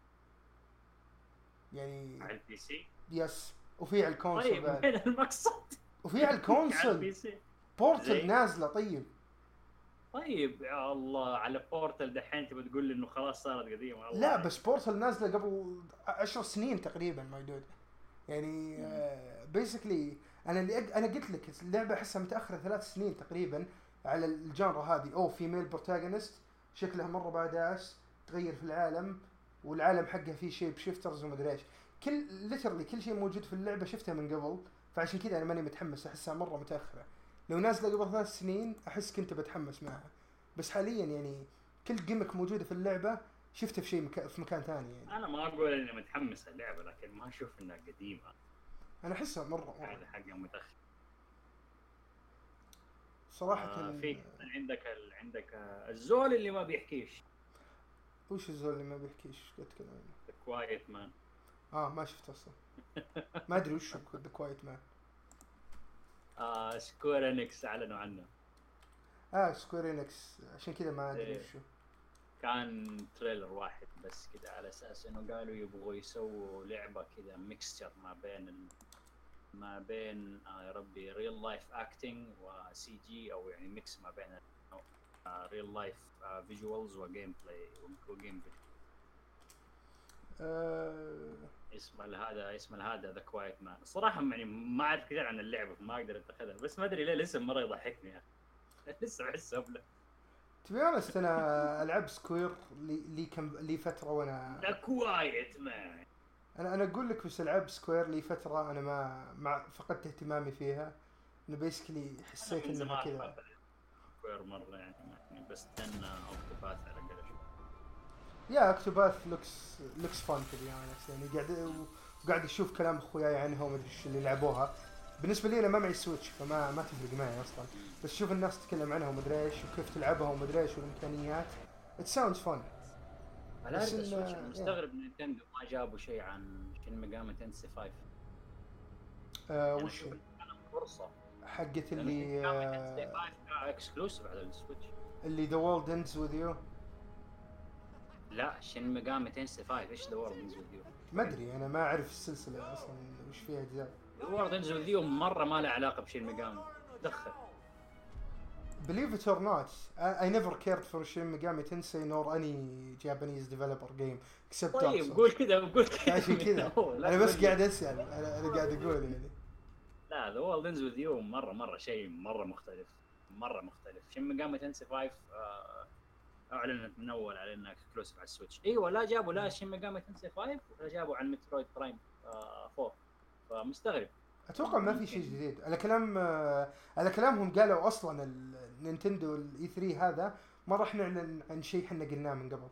يعني على البي سي. يس وفي على الكونسول. طيب وين المقصد؟ وفي على الكونسول بورتل نازله. طيب طيب يا الله على بورتل دحين تبي تقول لي انه خلاص صارت قديمه. لا بس بورتل نازله قبل عشر سنين تقريبا ما يدود. يعني بيسكلي uh, انا اللي أج... انا قلت لك اللعبه احسها متاخره ثلاث سنين تقريبا على الجانرا هذه. او فيميل بروتاغونست شكلها مره بعداس تغير في العالم والعالم حقها فيه شيب شيفترز ومدري ايش. كل ليترلي كل شيء موجود في اللعبه شفتها من قبل. فعشان كذا انا ماني متحمس احسها مره متاخره. لو نازله قبل ثلاث سنين احس كنت بتحمس معها. بس حاليا يعني كل جيمك موجوده في اللعبه شفتها في شيء مكا... في مكان ثاني. يعني انا ما اقول اني متحمس اللعبه لكن ما اشوف انها قديمه. انا احسها مره هذا حاجه متاخر صراحه. آه في عندك ال... عندك الزول اللي ما بيحكيش. وش الزول اللي ما بيحكيش؟ اتكلم عنه. ذا كوايت مان. اه ما شفت اصلا. ما ادري وش ذا كوايت مان. آه سكوير انكس اعلنوا عنه. اه سكوير انكس عشان كذا ما ادري إيه. وشو. كان تريلر واحد بس كذا على اساس انه قالوا يبغوا يسووا لعبه كذا ميكستشر ما بين ال... ما بين آه يا ربي ريل لايف اكتنج وسي جي او يعني ميكس ما بين ريل لايف فيجوالز وجيم بلاي وجيم بلاي. آه... اسم هذا اسم هذا ذا كوايت مان. الصراحه يعني ما اعرف كثير عن اللعبه فما اقدر اتخذها بس ما ادري ليه الاسم مره يضحكني يا اخي. لسه بحسه ابله. تبي honest انا العب سكوير لي لي كم لي فتره وانا ذا كوايت مان. انا انا اقول لك بس العب سكوير لي فتره انا ما ما فقدت اهتمامي فيها. انه بيسكلي حسيت انها كذا سكوير مره يعني, يعني بس استنى اوكتوباث على الاقل اشوف. يا اكتوباث لوكس لوكس فان تبي يعني قاعد وقاعد اشوف كلام اخوياي عنها وما ادري ايش اللي لعبوها. بالنسبه لي انا ما معي سويتش فما ما تفرق معي اصلا، بس شوف الناس تتكلم عنها وما ادري ايش وكيف تلعبها وما ادري ايش والامكانيات. ات ساوندز فن. على بس هذا إن- السويتش انا يا. مستغرب ان نينتندو ما جابوا شيء عن شين ميجامي تنسي خمسة. آه يعني وش اشوف إنه كان فرصه، حقت لانه شين اللي ميجامي تنسي آه خمسة كان اكسكلوسيف على السويتش. اللي ذا وورلد اندز وذ يو. لا شين ميجامي تنسي خمسة ايش ذا وورلد انز وذ يو؟ ما ادري انا ما اعرف السلسله اصلا وش فيها اجزاء. ذا وورلد انز وذ يو مره ما له علاقه بشين ميجامي. دخل Believe it or not, I, I never cared for Shin Megami Tensei nor any Japanese developer game except Dark طيب Souls. قول كذا قول كذا عشان كذا انا بس قاعد اسال انا انا قاعد اقول يعني. لا ذا وورلد انز وذ يو مره مره شيء مره مختلف مره مختلف. شين ميجامي تنسي خمسة آه، اعلنت من اول على انها اكسكلوسيف على السويتش. ايوه لا جابوا لا شين ميجامي تنسي خمسة ولا جابوا عن مترويد برايم آه أربعة. فمستغرب. اتوقع ما في شيء جديد على كلام آه، على كلامهم قالوا اصلا النينتندو الاي ثلاثة هذا ما راح نعلن عن شيء احنا قلناه من قبل.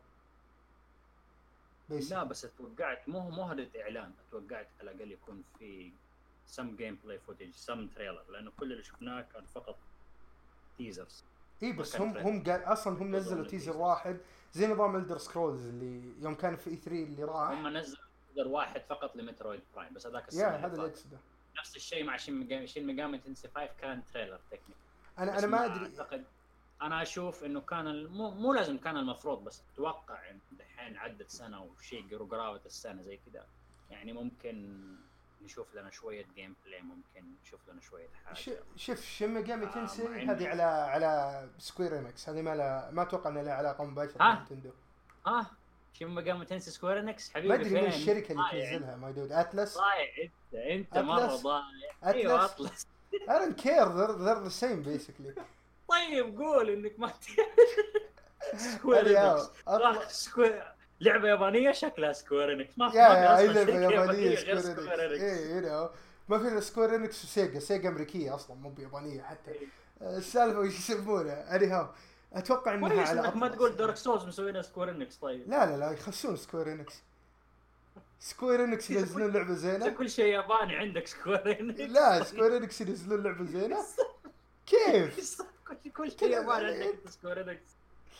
لا بس اتوقعت مو مو هذا الاعلان، اتوقعت على الاقل يكون في سم جيم بلاي فوتج سم تريلر، لانه كل اللي شفناه كان فقط تيزرز. اي بس هم هم قال اصلا هم نزلوا تيزر واحد زي نظام الدر سكرولز اللي يوم كان في اي ثلاثة اللي راح. هم نزلوا تيزر واحد فقط لمترويد برايم بس هذاك السنه. يا هذا اللي اقصده. نفس الشيء مع شين ميجامي شين ميجامي تنسي خمسة كان تريلر تكنيك. انا انا ما ادري اعتقد انا اشوف انه كان مو مو لازم كان المفروض، بس اتوقع ان الحين عدت سنه وشيء قرابه السنه زي كذا يعني ممكن نشوف لنا شويه جيم بلاي، ممكن نشوف لنا شويه حاجه. شوف شين ميجامي تنسي آه هذه على على سكوير انكس، هذه ما لا ما اتوقع ان لها علاقه مباشره آه. بنتندو. اه شين ميجامي تنسي سكوير انكس حبيبي ما ادري فين من الشركه اللي ضايع. تنزلها ما يدود اتلس. ضايع انت انت مره ضايع. ايوه اطلس. I don't care they're, they're the same basically. طيب قول انك ما سكوير انكس راح سكوير لعبه يابانيه شكلها سكوير انكس ما في يا يا اصلا لعبه شركه يابانيه غير سكوير انكس. ايه يو نو ما في سكوير انكس وسيجا. سيجا امريكيه اصلا مو بيابانيه حتى. السالفه وش يسمونها اني هاو اتوقع انها كويس على انك ما تقول دارك سولز مسوينها سكوير انكس. طيب لا لا لا يخسون سكوير انكس. سكوير انكس ينزلون لعبه زينه. كل شيء ياباني عندك سكوير انكس. لا سكوير انكس ينزلون لعبه زينه كيف كل كل شيء ياباني عندك سكوير انكس.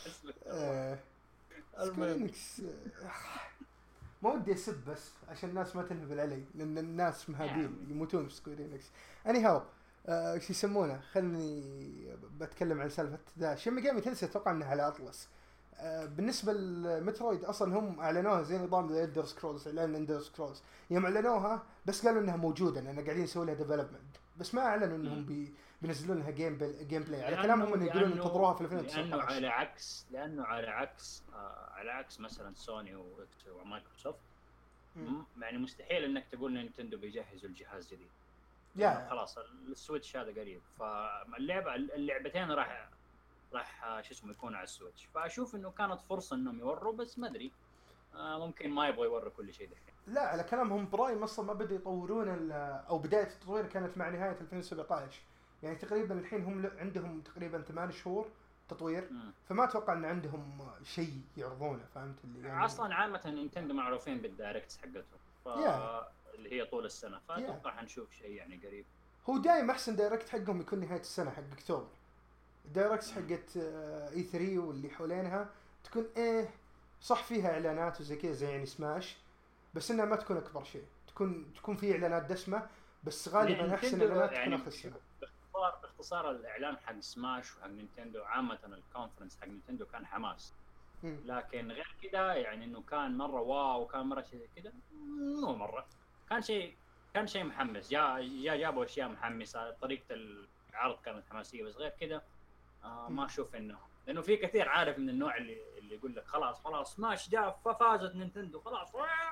سكوير انكس ما ودي اسب بس عشان الناس ما تنهبل علي لان الناس مهابين يموتون في سكوير انكس. اني هاو ايش يسمونه خلني بتكلم عن سالفه ذا شين ميجامي تنسي اتوقع انها على اطلس. آه بالنسبه لمترويد اصلا هم اعلنوها زي نظام الدر سكرولز. اعلان اندر سكرولز يوم اعلنوها بس قالوا انها موجوده لان قاعدين يسوي لها ديفلوبمنت بس ما اعلنوا انهم بي بينزلون لها جيم بل... جيم بلاي. على كلامهم انه يقولون انتظروها في ألفين وتسعة عشر. لانه على عكس لانه على عكس آه على عكس مثلا سوني ومايكروسوفت يعني مستحيل انك تقول نينتندو بيجهزوا الجهاز جديد. يا خلاص السويتش هذا قريب فاللعبه اللعبتين راح راح شو اسمه يكون على السويتش. فاشوف انه كانت فرصه انهم يوروا بس ما ادري آه ممكن ما يبغوا يوروا كل شيء دحين. لا على كلامهم برايم اصلا ما بدأوا يطورون او بدايه التطوير كانت مع نهايه ألفين وسبعة عشر يعني تقريبا الحين هم عندهم تقريبا ثمان شهور تطوير. م. فما اتوقع ان عندهم شيء يعرضونه فهمت اللي يعني اصلا عامه نينتندو معروفين بالدايركتس حقتهم ف... yeah. اللي هي طول السنه فاتوقع yeah. حنشوف شيء يعني قريب. هو دايم احسن دايركت حقهم يكون نهايه السنه حق اكتوبر. الدايركتس حقت اي ثلاثة واللي حولينها تكون ايه صح فيها اعلانات وزي كذا زي يعني سماش بس انها ما تكون اكبر شيء. تكون تكون في اعلانات دسمه بس غالبا يعني احسن اعلانات يعني تكون اخر السنه. باختصار باختصار الاعلان حق سماش وحق نينتندو عامه الكونفرنس حق نينتندو كان حماس. م. لكن غير كذا يعني انه كان مره واو وكان مره شيء كذا مو مره كان شيء كان شيء محمس. جاء جا جابوا اشياء محمسه طريقه العرض كانت حماسيه بس غير كذا آه ما اشوف انه لانه في كثير عارف من النوع اللي اللي يقول لك خلاص خلاص سماش جاء ففازت نينتندو خلاص.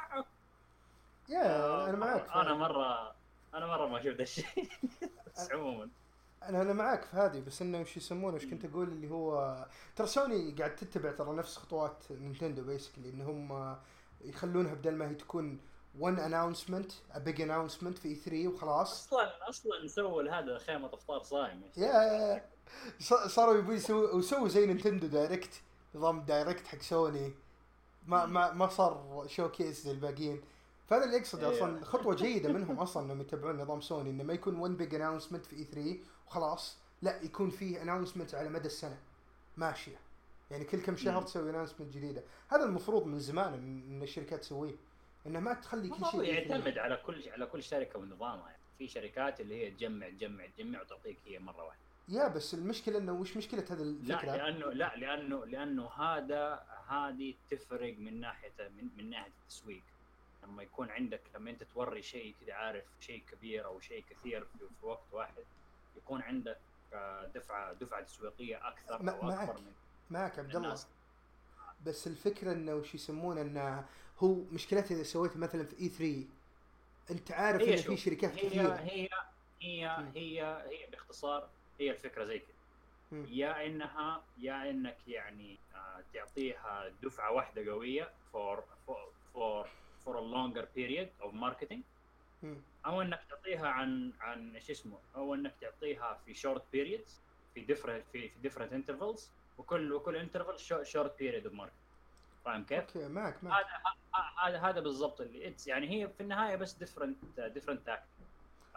يا آه انا معك انا مره انا مره ما شفت الشيء بس عموما انا انا معك في هذه بس انه وش يسمونه وش كنت اقول اللي هو ترى سوني قاعد تتبع ترى نفس خطوات نينتندو بيسكلي انهم يخلونها بدل ما هي تكون one announcement a big announcement في إي ثري وخلاص. اصلا اصلا سووا هذا خيمه افطار صايم يا صاروا يبون يسووا وسووا زي نينتندو دايركت، نظام دايركت حق سوني، ما ما ما صار شو كيس زي الباقيين. فهذا اللي يقصد اصلا خطوه جيده منهم اصلا انهم يتبعون نظام سوني، انه ما يكون ون بيج اناونسمنت في إي ثري وخلاص، لا يكون فيه اناونسمنت على مدى السنه ماشيه، يعني كل كم شهر تسوي اناونسمنت جديده. هذا المفروض من زمان ان الشركات تسويه، انه ما تخلي كل شيء يعتمد على كل على كل شركه ونظامها. يعني في شركات اللي هي تجمع تجمع تجمع وتعطيك هي مره واحده. يا بس المشكله انه وش مشكله هذا الفكره؟ لا لانه لا لانه لانه هذا هذه تفرق من ناحيه من, من ناحيه التسويق. لما يكون عندك لما انت توري شيء كذا عارف شيء كبير او شيء كثير في, في وقت واحد، يكون عندك دفعه دفعه تسويقيه اكثر ما او اكبر من معك عبد الله. بس الفكره انه وش يسمونه انه هو مشكلته اذا سويته مثلا في إي ثري انت عارف ان في شركات هي كثيره. هي هي هي هي, هي باختصار هي الفكره زي كذا، يا انها يا انك يعني تعطيها دفعه واحده قويه for for for for a longer period of marketing، او انك تعطيها عن عن ايش اسمه او انك تعطيها في short periods في different في في different intervals، وكل وكل interval short period of marketing. فاهم كيف؟ اوكي معك معك. هذا هذا هذا بالضبط اللي يعني هي في النهايه بس different different tactics،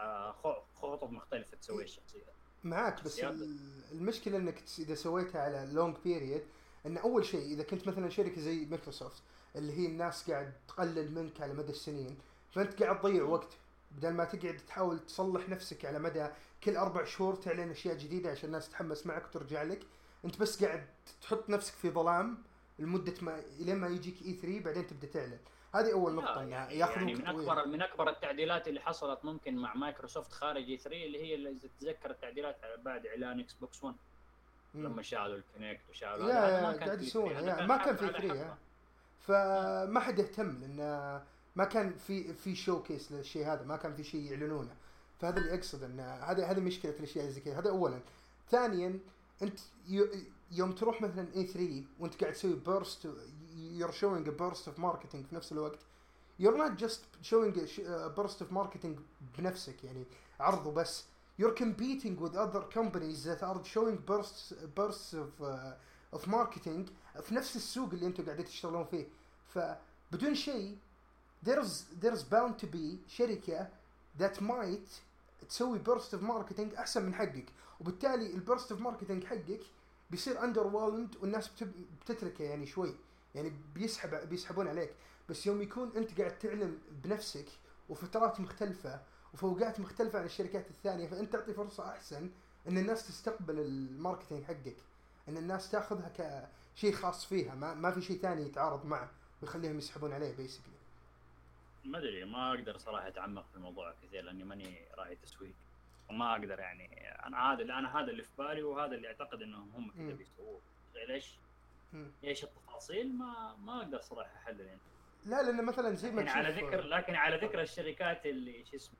خطط مختلفه تسوي الشخصيه معك. بس المشكله انك اذا سويتها على لونج بيريد، ان اول شيء اذا كنت مثلا شركه زي مايكروسوفت اللي هي الناس قاعد تقلل منك على مدى السنين، فانت قاعد تضيع وقت بدل ما تقعد تحاول تصلح نفسك على مدى كل اربع شهور تعلن اشياء جديده عشان الناس تتحمس معك وترجع لك. انت بس قاعد تحط نفسك في ظلام لمده ما لين ما يجيك إي ثري بعدين تبدا تعلن. هذه اول نقطه انها ياخذون يعني من اكبر من اكبر التعديلات اللي حصلت ممكن مع مايكروسوفت خارج إي ثري اللي هي اللي تتذكر التعديلات بعد اعلان اكس بوكس ون لما شالوا الكونكت وشالوا هذا ما كان يسوونه ما كان في ثري، فما حد يهتم لان ما كان في في شو كيس للشيء هذا، ما كان في شيء يعلنونه. فهذا اللي اقصد ان هذه هذه مشكله الاشياء زي كذا. هذا اولا. ثانيا انت يوم تروح مثلا إي ثري وانت قاعد تسوي burst you're showing a burst of marketing في نفس الوقت، you're not just showing a burst of marketing بنفسك يعني عرض وبس، you're competing with other companies that are showing bursts bursts of uh, of marketing في نفس السوق اللي انتم قاعدين تشتغلون فيه. فبدون شيء there's there's bound to be شركة that might تسوي burst of marketing احسن من حقك، وبالتالي البرست of marketing حقك بيصير underwhelmed والناس بتتركه يعني شوي، يعني بيسحب بيسحبون عليك. بس يوم يكون انت قاعد تعلن بنفسك وفترات مختلفة وفوقات مختلفة عن الشركات الثانية، فانت تعطي فرصة احسن ان الناس تستقبل الماركتينج حقك، ان الناس تاخذها كشيء خاص فيها، ما ما في شيء ثاني يتعارض معه ويخليهم يسحبون عليه بيسكلي. ما ادري ما اقدر صراحة اتعمق في الموضوع كثير لاني ماني راعي تسويق، وما اقدر يعني انا هذا اللي انا هذا اللي في بالي وهذا اللي اعتقد انهم هم كذا بيسووه. ليش ايش التفاصيل ما ما اقدر صراحه احلل يعني. لا لان مثلا زي ما تشوف على ذكر لكن على ذكر الشركات اللي ايش اسمه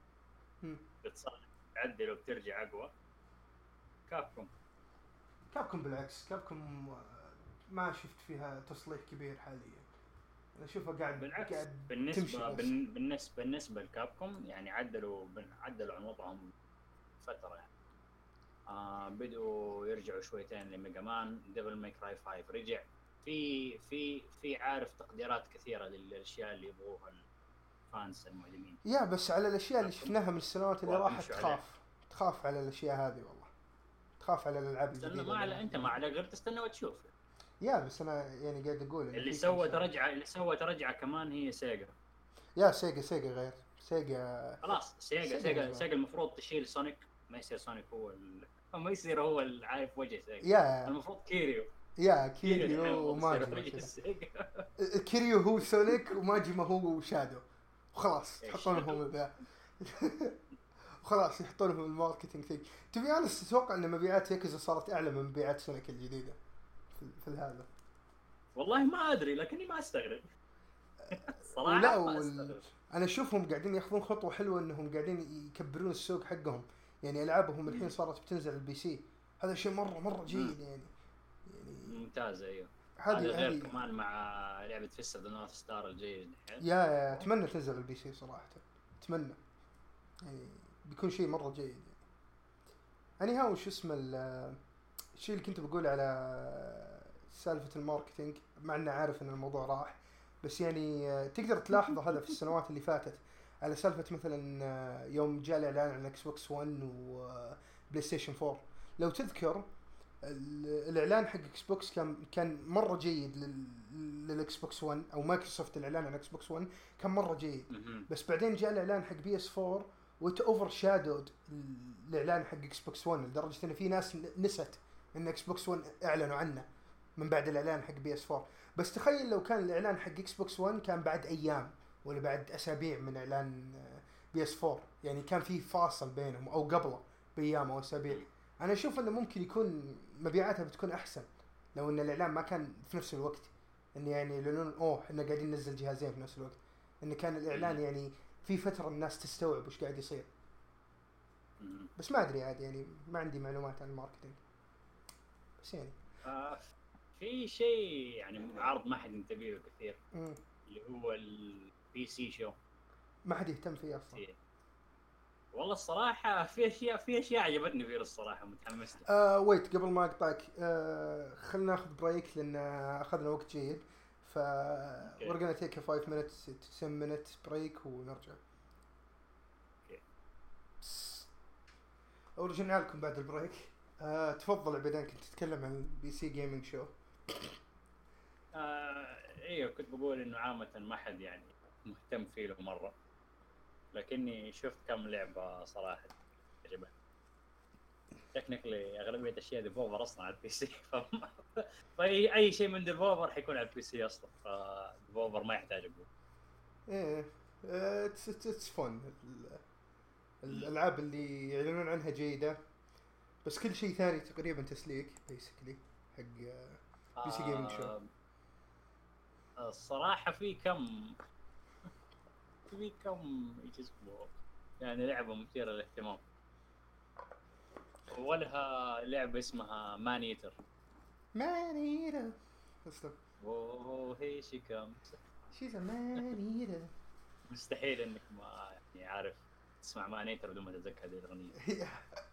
بتصلح تعدل وبترجع اقوى، كابكوم كابكوم بالعكس كابكوم ما شفت فيها تصليح كبير حاليا. انا اشوفها قاعد بالعكس قاعد بالنسبه بالنسبه بالنسبه لكابكوم يعني عدلوا عدلوا عن وضعهم فتره يعني. آه بدوا يرجعوا شويتين لميجا مان، ديفل ماي كراي فايف رجع في في في عارف تقديرات كثيره للاشياء اللي يبغوها الفانس المعلمين. يا بس على الاشياء اللي شفناها من السنوات اللي راحت تخاف عليه. تخاف على الاشياء هذه والله، تخاف على الالعاب الجديده. ما على انت ما على غير تستنى وتشوف. يا بس انا يعني قاعد اقول اللي سوت رجعه اللي سوت رجعه كمان هي سيجا. يا سيجا سيجا غير سيجا خلاص سيجا سيجا سيجا, سيجا المفروض تشيل سونيك، ما يصير سونيك هو ال... ما يصير هو العارف وجه سيجا. يا المفروض كيريو. يا كيريو وماجما. كيريو هو سونيك وماجما هو شادو وخلاص يحطونهم ذا وخلاص يحطونهم الماركتينج ثينك. تبي انا اتوقع ان مبيعات ياكوزا صارت اعلى من مبيعات سونيك الجديده في, في هذا. والله ما ادري لكني ما استغرب صراحه. لا وال... انا اشوفهم قاعدين ياخذون خطوه حلوه انهم قاعدين يكبرون السوق حقهم، يعني العابهم الحين صارت بتنزل البي سي، هذا شيء مره مره جيد يعني. يعني ممتاز. ايوه هذا هذه غير هذه كمان مع لعبه فيست اوف ذا نورث ستار الجيد الحين. يا يا اتمنى تنزل على البي سي صراحه، اتمنى يعني بيكون شيء مره جيد يعني. يعني ها وش اسمه ال- الشيء اللي كنت بقول على سالفه الماركتينج، مع اني عارف ان الموضوع راح، بس يعني آه، تقدر تلاحظ هذا في السنوات اللي فاتت، على سالفه مثلا آه، يوم جاء الاعلان عن اكس بوكس ون وبلاي ستيشن فور. لو تذكر ال- الاعلان حق اكس بوكس كان كان مره جيد لل- للاكس بوكس ون، او مايكروسوفت الاعلان عن اكس بوكس ون كان مره جيد. مهم. بس بعدين جاء الاعلان حق بي اس فور وت اوفر شادود الاعلان حق اكس بوكس ون، لدرجه ان في ناس نست ان اكس بوكس ون اعلنوا عنه من بعد الاعلان حق بي اس فور. بس تخيل لو كان الاعلان حق اكس بوكس ون كان بعد ايام ولا بعد اسابيع من اعلان بي اس فور، يعني كان في فاصل بينهم او قبله بايام او اسابيع. انا اشوف انه ممكن يكون مبيعاتها بتكون احسن لو ان الاعلان ما كان في نفس الوقت، ان يعني لانه اوه احنا قاعدين ننزل جهازين في نفس الوقت، ان كان الاعلان يعني في فتره الناس تستوعب وش قاعد يصير. مهم. بس ما ادري عاد يعني ما عندي معلومات عن الماركتينج، بس يعني آه في شيء يعني عرض ما حد ينتبه له كثير، مم. اللي هو البي سي شو. ما حد يهتم فيه اصلا. في والله الصراحه في اشياء في اشياء عجبتني فيه الصراحه، متحمس له. آه ويت قبل ما اقطعك، آه خلينا ناخذ بريك لان اخذنا وقت جيد، ف أوكي. we're gonna take a five minutes to ten minutes break ونرجع. أوكي. ورجعنا لكم بعد البريك. آه تفضل عبيدان، كنت تتكلم عن البي سي جيمنج شو. آه ايوه كنت بقول انه عامه ما حد يعني مهتم فيه له مره، لكني شفت كم لعبه صراحه عجبتني. تكنيكلي اغلبيه الاشياء ديفولفر اصلا على البي سي ف... فاي اي شيء من ديفولفر حيكون على البي سي اصلا، فديفولفر ما يحتاج اقول. ايه اتس اتس فن، الالعاب اللي يعلنون عنها جيده، بس كل شيء ثاني تقريبا تسليك بيسكلي حق بي سي جيمنج شو. آه الصراحه في كم في كم يجذبوا يعني لعبه مثيره للاهتمام، ولها لعبه اسمها مان ايتر. مان ايتر اسلم. اوه هي شي كم شيز ا مان ايتر. مستحيل انك ما يعني عارف تسمع مان ايتر بدون ما تتذكر هذه الاغنيه.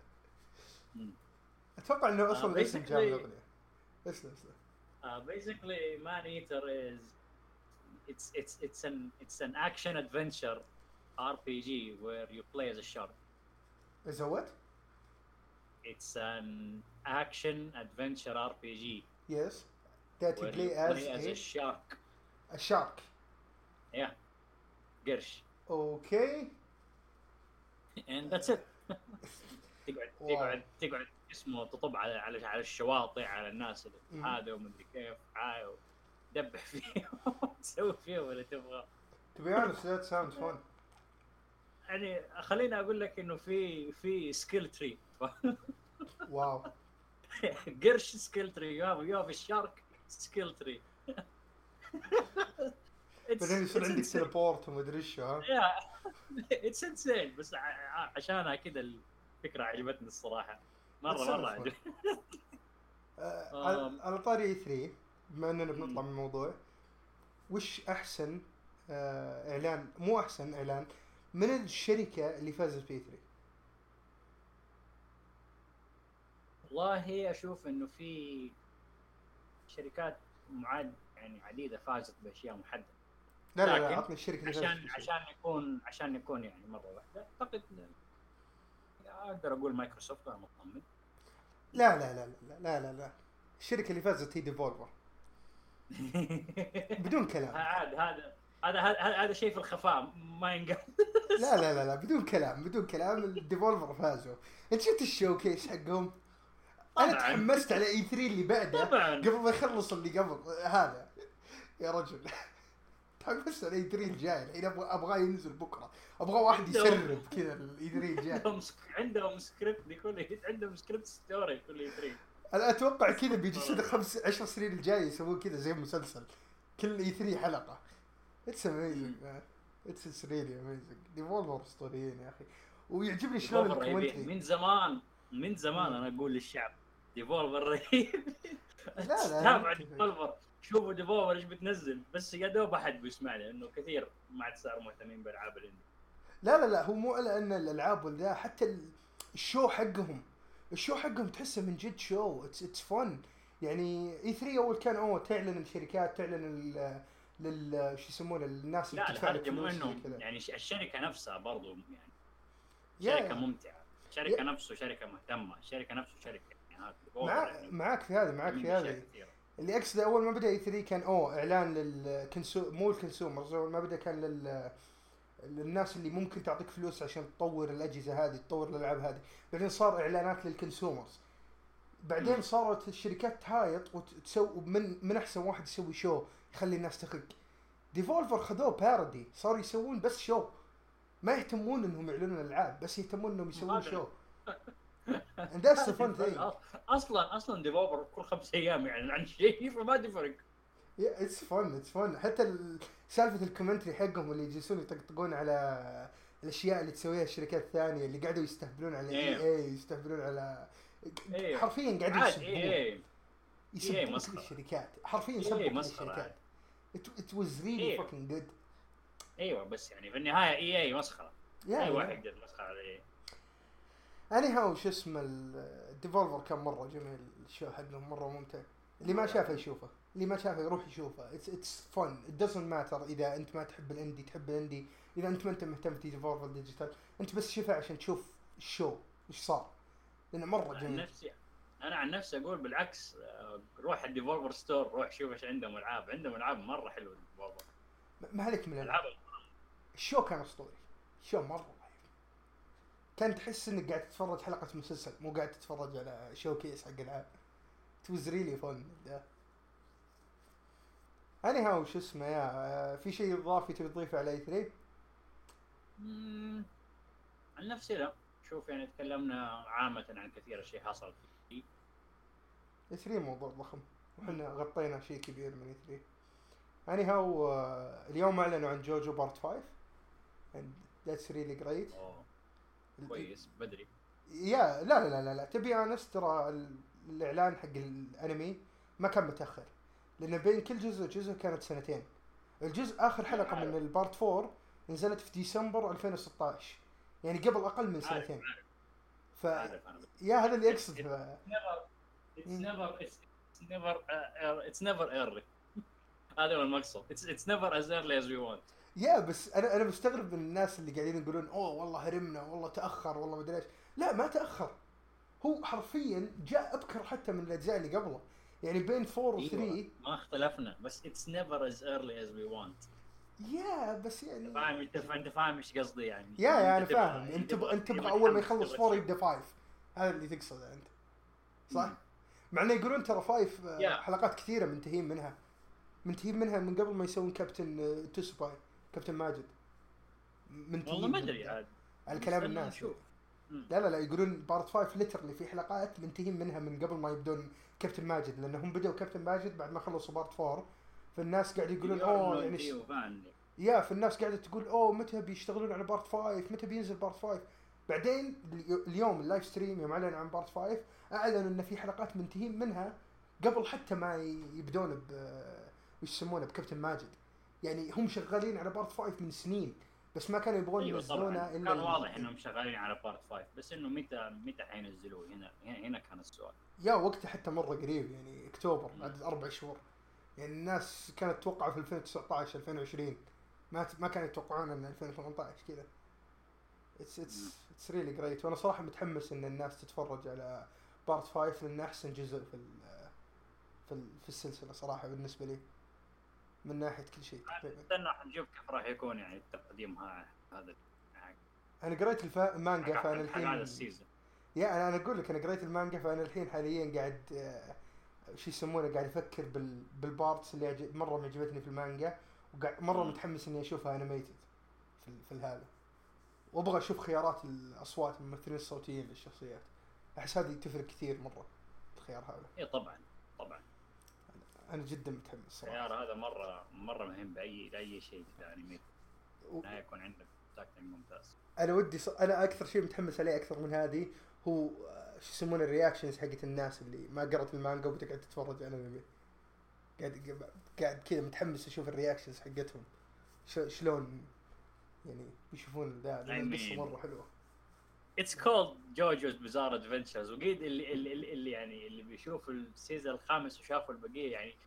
اتوقع انه اصلا Uh, الاسم جاء من basically- الاغنيه. اسلم اسلم. Uh, basically, Man Eater is it's it's it's an it's an action adventure R P G where you play as a shark. Is that what? It's an action adventure R P G Yes. That you where play you as play as a, a shark. a shark. Yeah, قرش. Okay. And that's it. تقعد واو. تقعد تقعد اسمه تطب على على على الشواطئ على الناس اللي مم. هذا ومدري كيف عاي دبح فيهم تسوي فيهم اللي تبغى. To be honest, that sounds fun. يعني خليني اقول لك انه في في سكيل تري. واو. قرش سكيل تري، يو هاف يو هاف الشارك سكيل تري. بعدين يصير عندك تليبورت وما ادري ايش ها. يا اتس انسين، بس ع- عشانها كذا الفكره عجبتني الصراحه مره That's مره fun. عجبتني. آه، على على طاري اي ثري، بما اننا بنطلع من الموضوع، وش احسن آه، اعلان، مو احسن اعلان من الشركه اللي فازت بي ثري؟ والله اشوف انه في شركات معاد يعني عديده فازت باشياء محدده، لا لا لا، لكن عطني الشركه اللي فازت عشان بي ثري. عشان يكون عشان يكون يعني مره واحده اعتقد اقدر اقول مايكروسوفت. وانا مطمن. لا لا لا لا لا لا لا، الشركه اللي فازت هي ديفولفر بدون كلام. هذا هذا هذا هذا هذا شيء في الخفاء ما ينقال. لا لا لا لا، بدون كلام بدون كلام، الديفولفر فازوا. انت شفت الشوكيس حقهم؟ انا طبعاً. تحمست على اي ثري اللي بعده طبعاً. قبل ما يخلص اللي قبل هذا يا رجل. تحمست على اي ثري الجاي الحين، ابغى ابغاه ينزل بكره، ابغى واحد يسرب كذا الاي ثري الجاي. عندهم سك... عندهم سكريبت لكل عندهم سكريبت ستوري كل ثري. انا اتوقع كذا بيجي صدق خمس عشر سنين الجاي يسوون كذا زي مسلسل كل اي ثري حلقه. اتس اميزنج مان، اتس ريلي اميزنج. ديفولفر اسطوريين يا اخي، ويعجبني شلون الكومنتري من زمان من زمان انا اقول للشعب ديفولفر رهيب. لا لا تابع ديفولفر، شوفوا ديفولفر ايش بتنزل، بس يا دوب احد بيسمع لي انه كثير ما عاد صاروا مهتمين بالالعاب الاندي. لا لا لا هو مو الا ان الالعاب ولا حتى الشو حقهم، الشو حقهم تحسه من جد شو، اتس اتس فن. يعني اي ثري اول كان اوه تعلن الشركات، تعلن ال لل شو يسمونه الناس اللي لا بتدفع لك الحرج مو فلوس زي انه كذا. يعني الشركه نفسها برضو يعني شركه يا ممتعه، شركه يا نفسه شركه مهتمه، شركه نفسه شركه يعني هذا مع يعني معاك في هذا، معاك في اشياء هذه. كثيره. اللي اقصده اول ما بدا اي ثري كان اوه اعلان للكنسو مو الكونسيومرز، اول ما بدا كان لل للناس اللي ممكن تعطيك فلوس عشان تطور الاجهزه هذه، تطور الالعاب هذه. بعدين صار اعلانات للكونسيومرز، بعدين صارت الشركات تهايط وتسوي من من احسن واحد يسوي شو يخلي الناس تخق. ديفولفر خذوه بارودي، صاروا يسوون بس شو، ما يهتمون انهم يعلنون الالعاب، بس يهتمون انهم يسوون شو. and that's the fun thing. اصلا اصلا ديفولفر كل خمس ايام يعني عن شيء فما تفرق. yeah it's fun it's fun. حتى سالفه الكومنتري حقهم اللي يجلسون يطقطقون على الاشياء اللي تسويها الشركات الثانيه، اللي قاعدوا يستهبلون على اي اي، يستهبلون على حرفيا قاعدين يسبون يسبون كل الشركات، حرفيا يسبون كل الشركات. it was really fucking good. ايوه بس يعني في النهايه اي اي مسخره، اي واحد يقدر مسخره عليه. اني هاو شو اسمه الديفولفر كان مره جميل، الشو حقهم مره ممتع. اللي ما شافه يشوفه، اللي ما شافه يروح يشوفه. it's it's fun it doesn't matter اذا انت ما تحب الاندي، تحب الاندي. اذا انت ما انت مهتم في ديفولفر ديجيتال، انت بس شوفه عشان تشوف الشو ايش صار، لانه مره جميل. نفسي انا عن نفسي اقول بالعكس، روح الديفولفر ستور، روح شوف ايش عندهم العاب، عندهم العاب مره حلوه الديفولفر. ما عليك من الالعاب، الشو كان اسطوري، الشو مره كان تحس انك قاعد تتفرج حلقه مسلسل، مو قاعد تتفرج على شو كيس حق العاب. it was really fun. اني هاو شو اسمه يا في شيء اضافي تبي تضيفه على اي ثري؟ امم عن نفسي لا، شوف يعني تكلمنا عامه عن كثير شيء حصل في اي ثري، موضوع ضخم وحنا غطينا شيء كبير من اي ثري. اني هاو اليوم اعلنوا عن جوجو بارت فايف and that's really great. كويس بدري. يا لا لا لا لا تبي انس، ترى الاعلان حق الانمي ما كان متاخر، لان بين كل جزء وجزء كانت سنتين. الجزء اخر حلقه من البارت فور نزلت في ديسمبر ألفين وستة عشر، يعني قبل اقل من سنتين. ف يا هذا اللي اقصد. it's never it's never uh, it's never early. هذا هو المقصود. it's it's never as early as we want. يا بس انا انا مستغرب من الناس اللي قاعدين يقولون اوه والله هرمنا، والله تاخر، والله ما ادري ايش. لا ما تاخر، هو حرفيا جاء ابكر حتى من الاجزاء اللي قبله، يعني بين فور و ثري ما اختلفنا، بس it's never as early as we want. يا بس يعني فاهم انت انت فاهم ايش قصدي يعني. يا يا انا فاهم، انت انت تبغى اول ما يخلص فور يبدا فايف، هذا اللي تقصده انت صح؟ مع انه يقولون ترى فايف حلقات كثيره منتهين منها، منتهين منها من قبل ما يسوون كابتن توسباي، كابتن ماجد منتهين. والله ما ادري عاد على كلام الناس. لا لا لا يقولون بارت فايف ليترلي في حلقات منتهين منها من قبل ما يبدون كابتن ماجد، لانهم بدأوا كابتن ماجد بعد ما خلصوا بارت فور. فالناس قاعد يقولون اوه يعني يا في الناس قاعده تقول اوه متى بيشتغلون على بارت فايف، متى بينزل بارت فايف. بعدين اليوم اللايف ستريم يوم اعلن عن بارت فايف اعلنوا ان في حلقات منتهين منها قبل حتى ما يبدون ب وش يسمونه بكابتن ماجد. يعني هم شغالين على بارت فايف من سنين، بس ما كانوا يبغون أيوة ينزلونه الا كان واضح انهم شغالين على بارت فايف، بس انه متى متى حينزلوه هنا هنا كان السؤال. يا وقته حتى مره قريب، يعني اكتوبر بعد اربع شهور. يعني الناس كانت تتوقع في ألفين وتسعة عشر ألفين وعشرين، ما ما كانوا يتوقعون ان ألفين وثمانية عشر كذا. اتس اتس اتس ريلي جريت، وانا صراحه متحمس ان الناس تتفرج على بارت فايف لانه احسن جزء في في في السلسله صراحه بالنسبه لي من ناحيه كل شيء تقريبا. استنى نشوف كيف راح يكون يعني التقديم هذا. انا قريت الفا... المانجا فانا الحين هذا السيزون. يا انا انا اقول لك انا قريت المانجا فانا الحين حاليا قاعد آه شو يسمونه قاعد افكر بال... بالبارتس اللي عجب... مره معجبتني في المانجا، وقاعد مره م. متحمس اني اشوفها انيميتد في في هذا، وابغى اشوف خيارات الاصوات الممثلين الصوتيين للشخصيات. احس هذه تفرق كثير مره الخيار هذا. اي طبعا طبعا انا جدا متحمس صراحه. الخيار هذا مره مره مهم باي لاي شيء في انمي و... لا يكون عندك تاكتنج ممتاز. انا ودي ص... انا اكثر شيء متحمس عليه اكثر من هذه هو شو يسمونه الرياكشنز حقت الناس اللي ما قرأت المانجا وبتقعد تتفرج على الانمي. قاعد قاعد كذا متحمس اشوف الرياكشنز حقتهم شلون يعني يشوفون ذا. القصه مره حلوه. It's called JoJo's Bizarre Adventures. وقيد اللي اللي, اللي يعني اللي بيشوف السيزون الخامس وشافوا البقيه يعني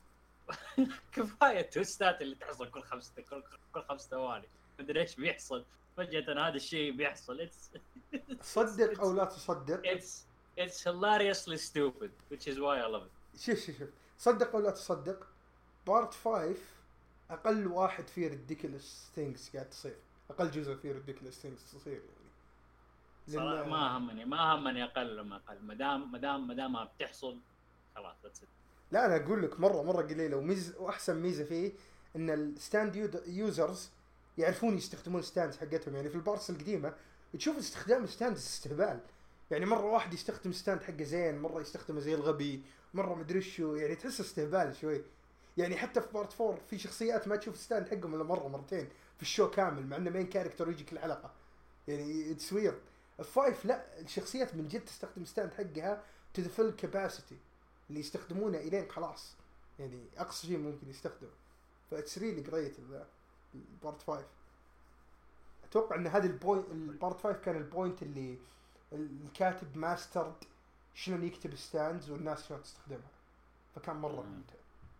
كفايه توستات اللي تحصل كل خمس كل, كل خمس ثواني. ما ادري ايش بيحصل فجاه هذا الشيء بيحصل. It's, صدق it's, او لا تصدق. It's it's hilariously stupid which is why I love it. شوف شوف شوف صدق او لا تصدق بارت خمسة اقل واحد فيه ridiculous things قاعد تصير. اقل جزء فيه ridiculous things تصير يعني. صراحة ما همني ما همني اقل ما اقل ما دام ما دام ما دام بتحصل خلاص that's it. لا انا اقول لك مره مره قليله وميز واحسن ميزه فيه ان الستاند يوزرز يعرفون يستخدمون ستاندز حقتهم. يعني في البارتس القديمه تشوف استخدام ستاندز استهبال. يعني مره واحد يستخدم ستاند حقه زين مره يستخدمه زي الغبي مره مدري شو يعني تحس استهبال شوي. يعني حتى في بارت فور في شخصيات ما تشوف ستاند حقهم الا مره مرتين في الشو كامل مع انه مين كاركتر يجي كل حلقه يعني اتس ويرد. الفايف لا الشخصيات من جد تستخدم ستاند حقها to the full capacity اللي يستخدمونه الين خلاص يعني اقصى شيء ممكن يستخدم. فاتس ريلي جريت البارت خمسة. اتوقع ان هذا البوينت البارت خمسة كان البوينت اللي الكاتب ماسترد شلون يكتب ستاندز والناس شلون تستخدمها فكان مره ممتع.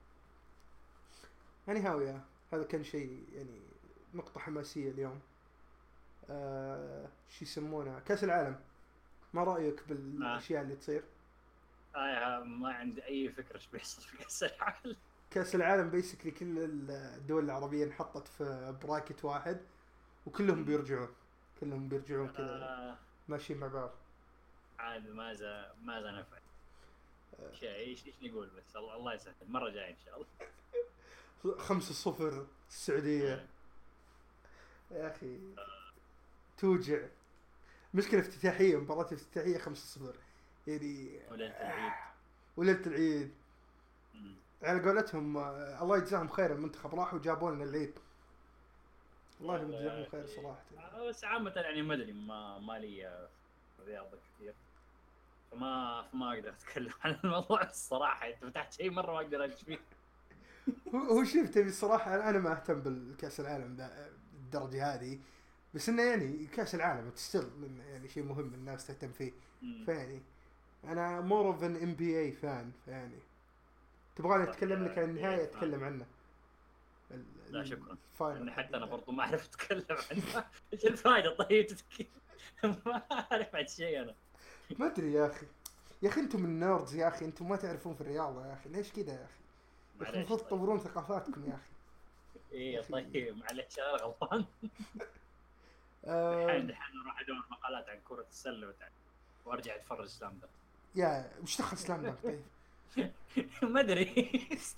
يعني هاوية هذا كان شيء يعني نقطة حماسية اليوم. آه شو يسمونه كأس العالم. ما رأيك بالأشياء اللي تصير؟ آه ما عندي أي فكرة إيش بيحصل في كأس العالم. كأس العالم بيسكلي كل الدول العربية انحطت في براكت واحد وكلهم بيرجعون كلهم بيرجعون كذا آه ماشيين مع بعض. عاد ماذا ماذا نفعل؟ آه شيء إيش إيش نقول بس الله الله يسهل مرة جاي إن شاء الله. خمسة صفر السعودية يا أخي توجع. مشكلة افتتاحية مباراة افتتاحية خمسة صفر يعني وليلة العيد وليلة العيد على قولتهم الله يجزاهم خير المنتخب راحوا جابوا لنا العيد الله يجزاهم خير صراحة. بس عامة يعني ما أدري ما ما لي رياضة كثير فما فما أقدر أتكلم عن الموضوع الصراحة. أنت فتحت شيء مرة ما أقدر أجي فيه. هو شفت الصراحة أنا ما أهتم بالكأس العالم ذا الدرجة هذه بس إنه يعني كأس العالم تستر يعني شيء مهم الناس تهتم فيه. فيعني أنا more of an إن بي إيه فان فيعني تبغاني أتكلم لك عن النهاية أتكلم عنه. لا شكرا لأن حتى أنا برضو ما أعرف أتكلم عنه. إيش الفائدة طيب تتكلم ما أعرف عن شيء أنا ما أدري يا أخي. يا أخي أنتم النيردز يا أخي أنتم ما تعرفون في الرياضة يا أخي ليش كذا يا أخي. المفروض تطورون ثقافاتكم يا أخي. إيه طيب معلش أنا غلطان. الحين الحين أروح أدور مقالات عن كرة السلة وتعال وأرجع أتفرج سلام دانك. يا وش دخل سلام دانك طيب؟ ما أدري.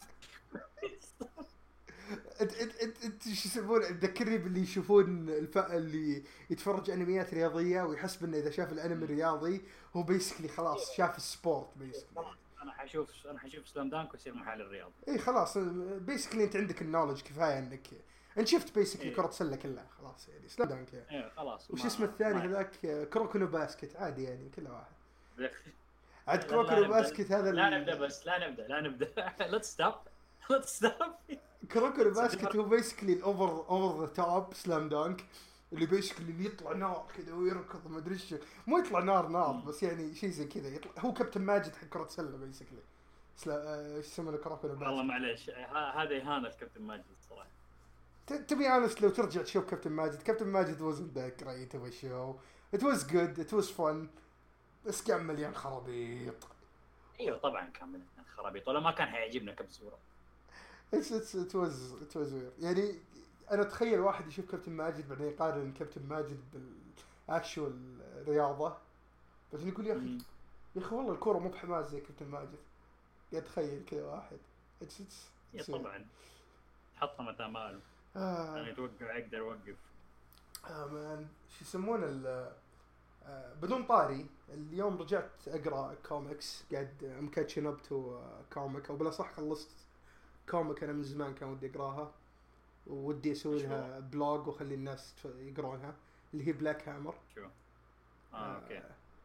انت انت انت انت شو يسمونه تذكرني باللي يشوفون الف اللي يتفرج انميات رياضيه ويحسب انه اذا شاف الانمي الرياضي هو بيسكلي خلاص شاف السبورت بيسكلي. انا حشوف انا حشوف سلام دانك ويصير محل الرياضي. اي خلاص بيسكلي انت عندك النولج كفايه انك انت شفت بيسكلي إيه. كره سله كلها خلاص يعني سلام دانك يعني. ايه خلاص. وش اسمه الثاني هذاك كروكونو باسكت عادي يعني كله واحد. عاد كروكونو باسكت هذا لا نبدا بس لا نبدا لا نبدا let's stop let's stop. كروكونو باسكت هو بيسكلي الاوفر اوفر ذا توب سلام دانك اللي بيسكلي اللي يطلع نار كذا ويركض ما ادري ايش مو يطلع نار نار بس يعني شيء زي كذا يطلع هو كابتن ماجد حق كرة سلة بيسكلي سلا ايش يسمونه كروكونو باسكت. والله معليش هذا اهانة الكابتن ماجد الصراحة. تبي انس لو ترجع تشوف كابتن ماجد كابتن ماجد wasn't that great of a show. It was good it was fun بس كان مليان خرابيط. ايوه طبعا كان مليان خرابيط ولا ما كان حيعجبنا كم صورة. It's it's it was it was weird. يعني أنا أتخيل واحد يشوف كابتن ماجد بعدين يقارن كابتن ماجد بالأكشوال رياضة بعدين يقول يا أخي يا أخي والله الكورة مو بحماس زي كابتن ماجد. يتخيل كذا واحد. It's it's. يا طبعا. حطها متى ماله. آه. يعني توقع أقدر أوقف. آه مان شو يسمونه ال آه بدون طاري اليوم رجعت أقرأ كوميكس قاعد مكاتشين أب تو كوميك أو بلا صح خلصت كوميك أنا من زمان كان ودي أقراها ودي أسوي لها بلوج وخلي الناس يقرونها اللي هي بلاك هامر. شو؟ آه أوكي.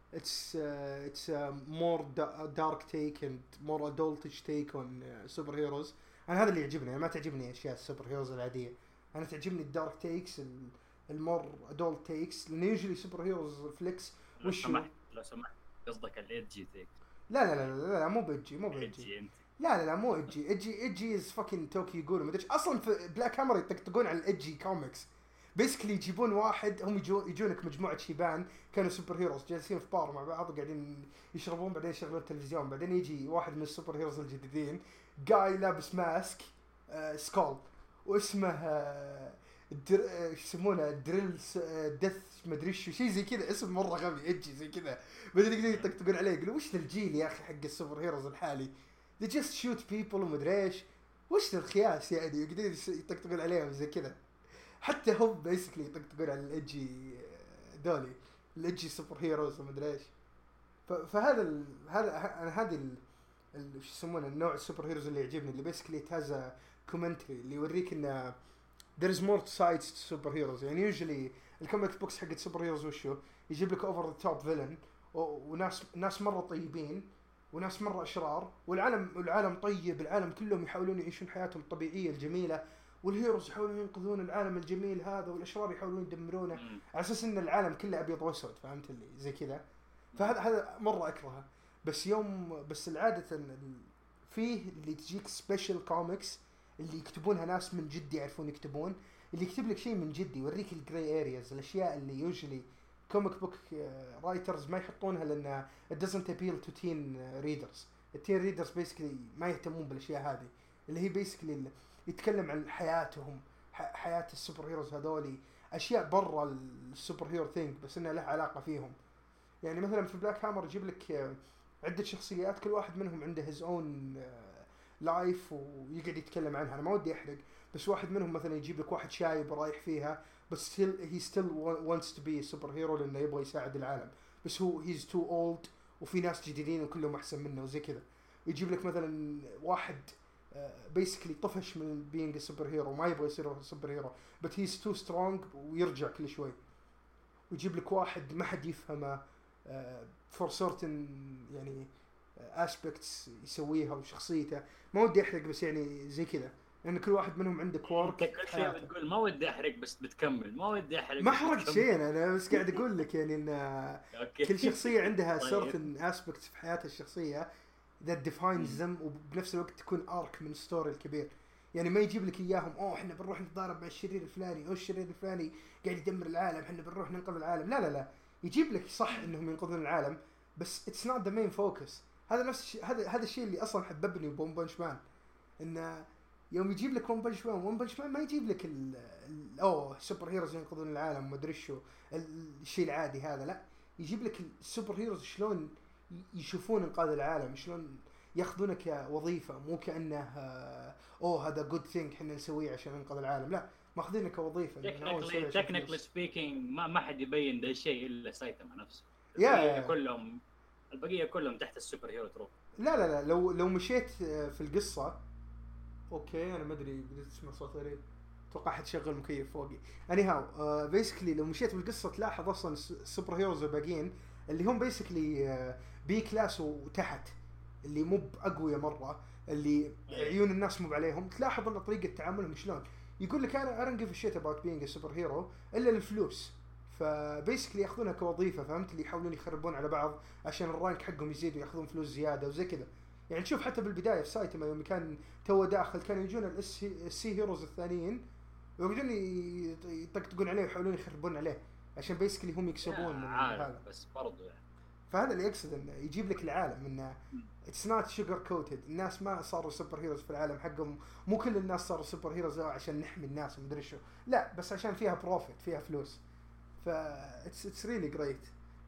it's uh, it's a more da- dark take and more adultish take on uh, superheroes. انا هذا اللي يعجبني. أنا ما تعجبني اشياء السوبر هيروز العاديه. انا تعجبني الدارك تيكس, المور ادولت تيكس, لان يوجولي سوبر هيروز فليكس. لو وش سمحت لو سمحت قصدك الايدجي تيك؟ لا لا لا لا, لا مو بيجي مو بيجي ايدجي انت. لا لا لا مو ايجي ايجي ايجي از فاكين توكي يقولوا ما ادري اصلا في بلاك هامر يطقطقون على الايجي كوميكس. بيسكلي يجيبون واحد, هم يجون يجونك مجموعه شيبان كانوا سوبر هيروز جالسين في بار مع بعض قاعدين يشربون, بعدين يشغلون التلفزيون, بعدين يجي واحد من السوبر هيروز الجديدين جاي لابس ماسك آه سكول واسمه آه در... آه يسمونه دريل آه دث ما ادري شو شيء زي كذا, اسم مره غبي ايجي زي كذا. بعدين يقدرون يطقطقون عليه يقولوا وش ذا الجيل يا اخي حق السوبر هيروز الحالي, they just shoot people ومدري ايش, وش ذا الخياس يعني. يقدرون يطقطقون عليهم زي كذا. حتى هم بيسكلي يطقطقون على الايجي دولي الايجي سوبر هيروز ومدري ايش. فهذا ال... هذا هذه ال... ال... شو يسمونه النوع السوبر هيروز اللي يعجبني, اللي بيسكلي تازا كومنتري اللي يوريك ان there is more sides to superheroes. يعني usually الكوميك بوكس حق السوبر هيروز وشو يجيب لك اوفر ذا توب فيلن وناس ناس مره طيبين وناس مره اشرار, والعالم العالم طيب, العالم كلهم يحاولون يعيشون حياتهم الطبيعيه الجميله, والهيروز يحاولون ينقذون العالم الجميل هذا, والاشرار يحاولون يدمرونه على اساس ان العالم كله ابيض واسود, فهمت اللي زي كذا. فهذا هذا مره اكرهه. بس يوم بس العاده فيه اللي تجيك سبيشال كوميكس اللي يكتبونها ناس من جد يعرفون يكتبون, اللي يكتب لك شيء من جد يوريك الجراي ارياز, الاشياء اللي يوجولي كوميك بوك رايترز ما يحطونها لان it doesn't appeal to teen readers. التين ريدرز بيسكلي ما يهتمون بالاشياء هذه, اللي هي بيسكلي يتكلم عن حياتهم, حياة السوبر هيروز هذولي, اشياء برا السوبر هيرو ثينك بس انها لها علاقه فيهم. يعني مثلا في بلاك هامر يجيب لك عده شخصيات كل واحد منهم عنده his own لايف ويقعد يتكلم عنها. انا ما ودي احرق, بس واحد منهم مثلا يجيب لك واحد شايب رايح فيها بس still he still wants to be a superhero لانه يبغى يساعد العالم, بس هو he's too old وفي ناس جديدين وكلهم احسن منه وزي كذا. يجيب لك مثلا واحد uh, basically طفش من being a superhero وما يبغى يصير superhero but he's too strong ويرجع كل شوي. ويجيب لك واحد ما حد يفهمه uh, for certain يعني aspects يسويها وشخصيته. ما ودي احرق بس يعني زي كذا, لان كل واحد منهم عنده كوارك. انت كل شيء بتقول ما ودي احرق بس بتكمل, ما ودي احرق ما حرقت شيء, انا بس قاعد اقول لك يعني ان كل شخصيه عندها certain aspects في حياتها الشخصيه that defines them, وبنفس الوقت تكون arc من ستوري الكبير. يعني ما يجيب لك اياهم اوه احنا بنروح نتضارب مع الشرير الفلاني او الشرير الفلاني قاعد يدمر العالم احنا بنروح ننقذ العالم. لا لا لا, يجيب لك صح انهم ينقذون العالم بس it's not the main focus. هذا نفس الشيء, هذا هذا الشيء اللي اصلا حببني بون بانش مان, انه يوم يجيب لك ون بانش مان ون بانش مان ما يجيب لك ال اوه سوبر هيروز ينقذون العالم ما ادري شو الشيء العادي هذا, لا يجيب لك السوبر هيروز شلون يشوفون انقاذ العالم, شلون ياخذونه كوظيفه مو كانه اوه هذا جود ثينج احنا نسويه عشان ننقذ العالم, لا ماخذينه كوظيفه. تكنيكلي سبيكينج ما ما حد يبين ذا الشيء الا سايتاما نفسه, yeah. كلهم البقيه كلهم تحت السوبر هيرو تروب. لا لا لا لو لو مشيت في القصه اوكي انا ما ادري بديت تسمع صوت غريب, اتوقع حد شغل مكيف فوقي. اني هاو بيسكلي لو مشيت بالقصه تلاحظ اصلا السوبر هيروز الباقيين اللي هم بيسكلي بي كلاس وتحت, اللي مو باقوياء مره, اللي عيون الناس مو عليهم, تلاحظ ان طريقه تعاملهم شلون يقول لك انا I don't give a shit about being a superhero الا للفلوس. فبيسكلي ياخذونها كوظيفه, فهمت, اللي يحاولون يخربون على بعض عشان الرانك حقهم يزيد وياخذون فلوس زياده وزي كذا. يعني تشوف حتى بالبدايه في سايتاما يوم كان تو داخل كانوا يجون السي هيروز الثانيين ويقعدون يطقطقون عليه ويحاولون يخربون عليه عشان بيسكلي هم يكسبون من هذا. بس برضو يعني فهذا اللي يقصد انه يجيب لك العالم انه اتس نوت شوجر كوتد. الناس ما صاروا سوبر هيروز في العالم حقهم, مو كل الناس صاروا سوبر هيروز عشان نحمي الناس ومدري شو, لا بس عشان فيها بروفيت فيها فلوس. ف اتس اتس ريلي جريت.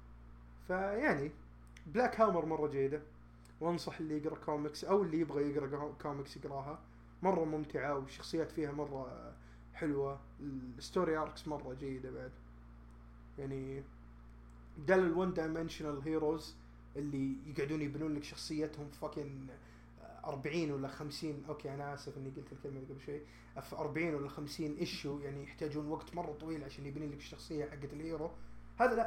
فيعني بلاك هامر مره جيده, وانصح اللي يقرا كوميكس او اللي يبغى يقرا كوميكس يقراها, مره ممتعه والشخصيات فيها مره حلوه, الستوري اركس مره جيده بعد. يعني بدل الون دايمنشنال هيروز اللي يقعدون يبنون لك شخصيتهم فاكين أربعين ولا خمسين, اوكي انا اسف اني قلت الكلمه قبل شوي, في أربعين ولا خمسين ايشو, يعني يحتاجون وقت مره طويل عشان يبني لك الشخصيه حقت الهيرو. هذا لا,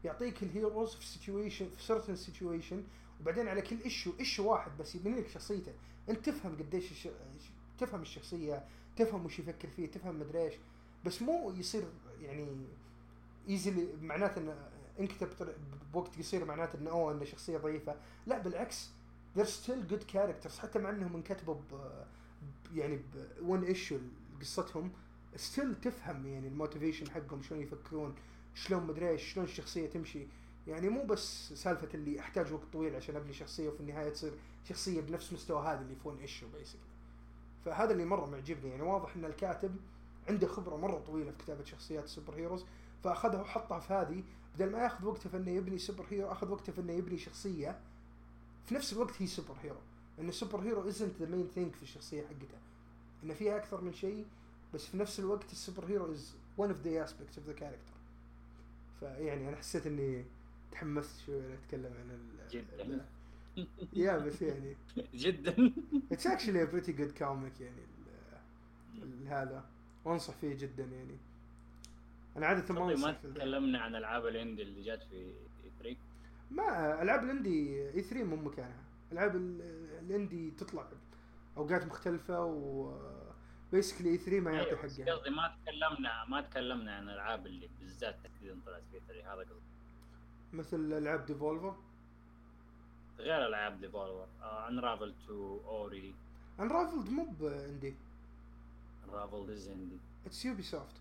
يعطيك الهيروز في سيتويشن في سيرتن سيتويشن، وبعدين على كل ايشو ايشو واحد بس يبني لك شخصيته. انت تفهم قديش الش... تفهم الشخصيه، تفهم وش يفكر فيه، تفهم مدري ايش، بس مو يصير يعني ايزلي معناته ان انكتب بوقت قصير معناته انه اوه انه شخصيه ضعيفه. لا بالعكس، they're still good characters حتى مع انهم انكتبوا ب يعني بون ايشو قصتهم، ستيل تفهم يعني الموتيفيشن حقهم، شلون يفكرون، شلون مدري ايش، شلون الشخصيه تمشي. يعني مو بس سالفه اللي احتاج وقت طويل عشان ابني شخصيه وفي النهايه تصير شخصيه بنفس مستوى هذا اللي فون ايشو بيسكلي. فهذا اللي مره معجبني، يعني واضح ان الكاتب عنده خبره مره طويله في كتابه شخصيات السوبر هيروز، فاخذها وحطها في هذه بدل ما ياخذ وقته في انه يبني سوبر هيرو، اخذ وقته في انه يبني شخصيه في نفس الوقت هي سوبر هيرو. ان السوبر هيرو isn't the main thing في الشخصيه حقته، ان فيها اكثر من شيء، بس في نفس الوقت السوبر هيرو is one of the aspects of the character. فيعني انا حسيت اني تحمست شوي اتكلم عن ال جدا يا بس يعني جدا it's actually a pretty good comic يعني ال هذا، وانصح فيه جدا يعني. انا عاده ما ما انصح في تكلمنا عن العاب الاندي اللي جات في ثري. ما العاب الاندي اي ثري مو مكانها. العاب الاندي تطلع اوقات مختلفه، و بيسكلي اي ثري ما يعطي أيوة. حقها. قصدي ما تكلمنا ما تكلمنا عن الالعاب اللي بالذات تحديدا طلعت في ثري، هذا قصدي. مثل العاب ديفولفر، غير العاب ديفولفر، انرافل تو اوري. انرافلد مو باندي، انرافل از اندي. اتس يوبي سوفت.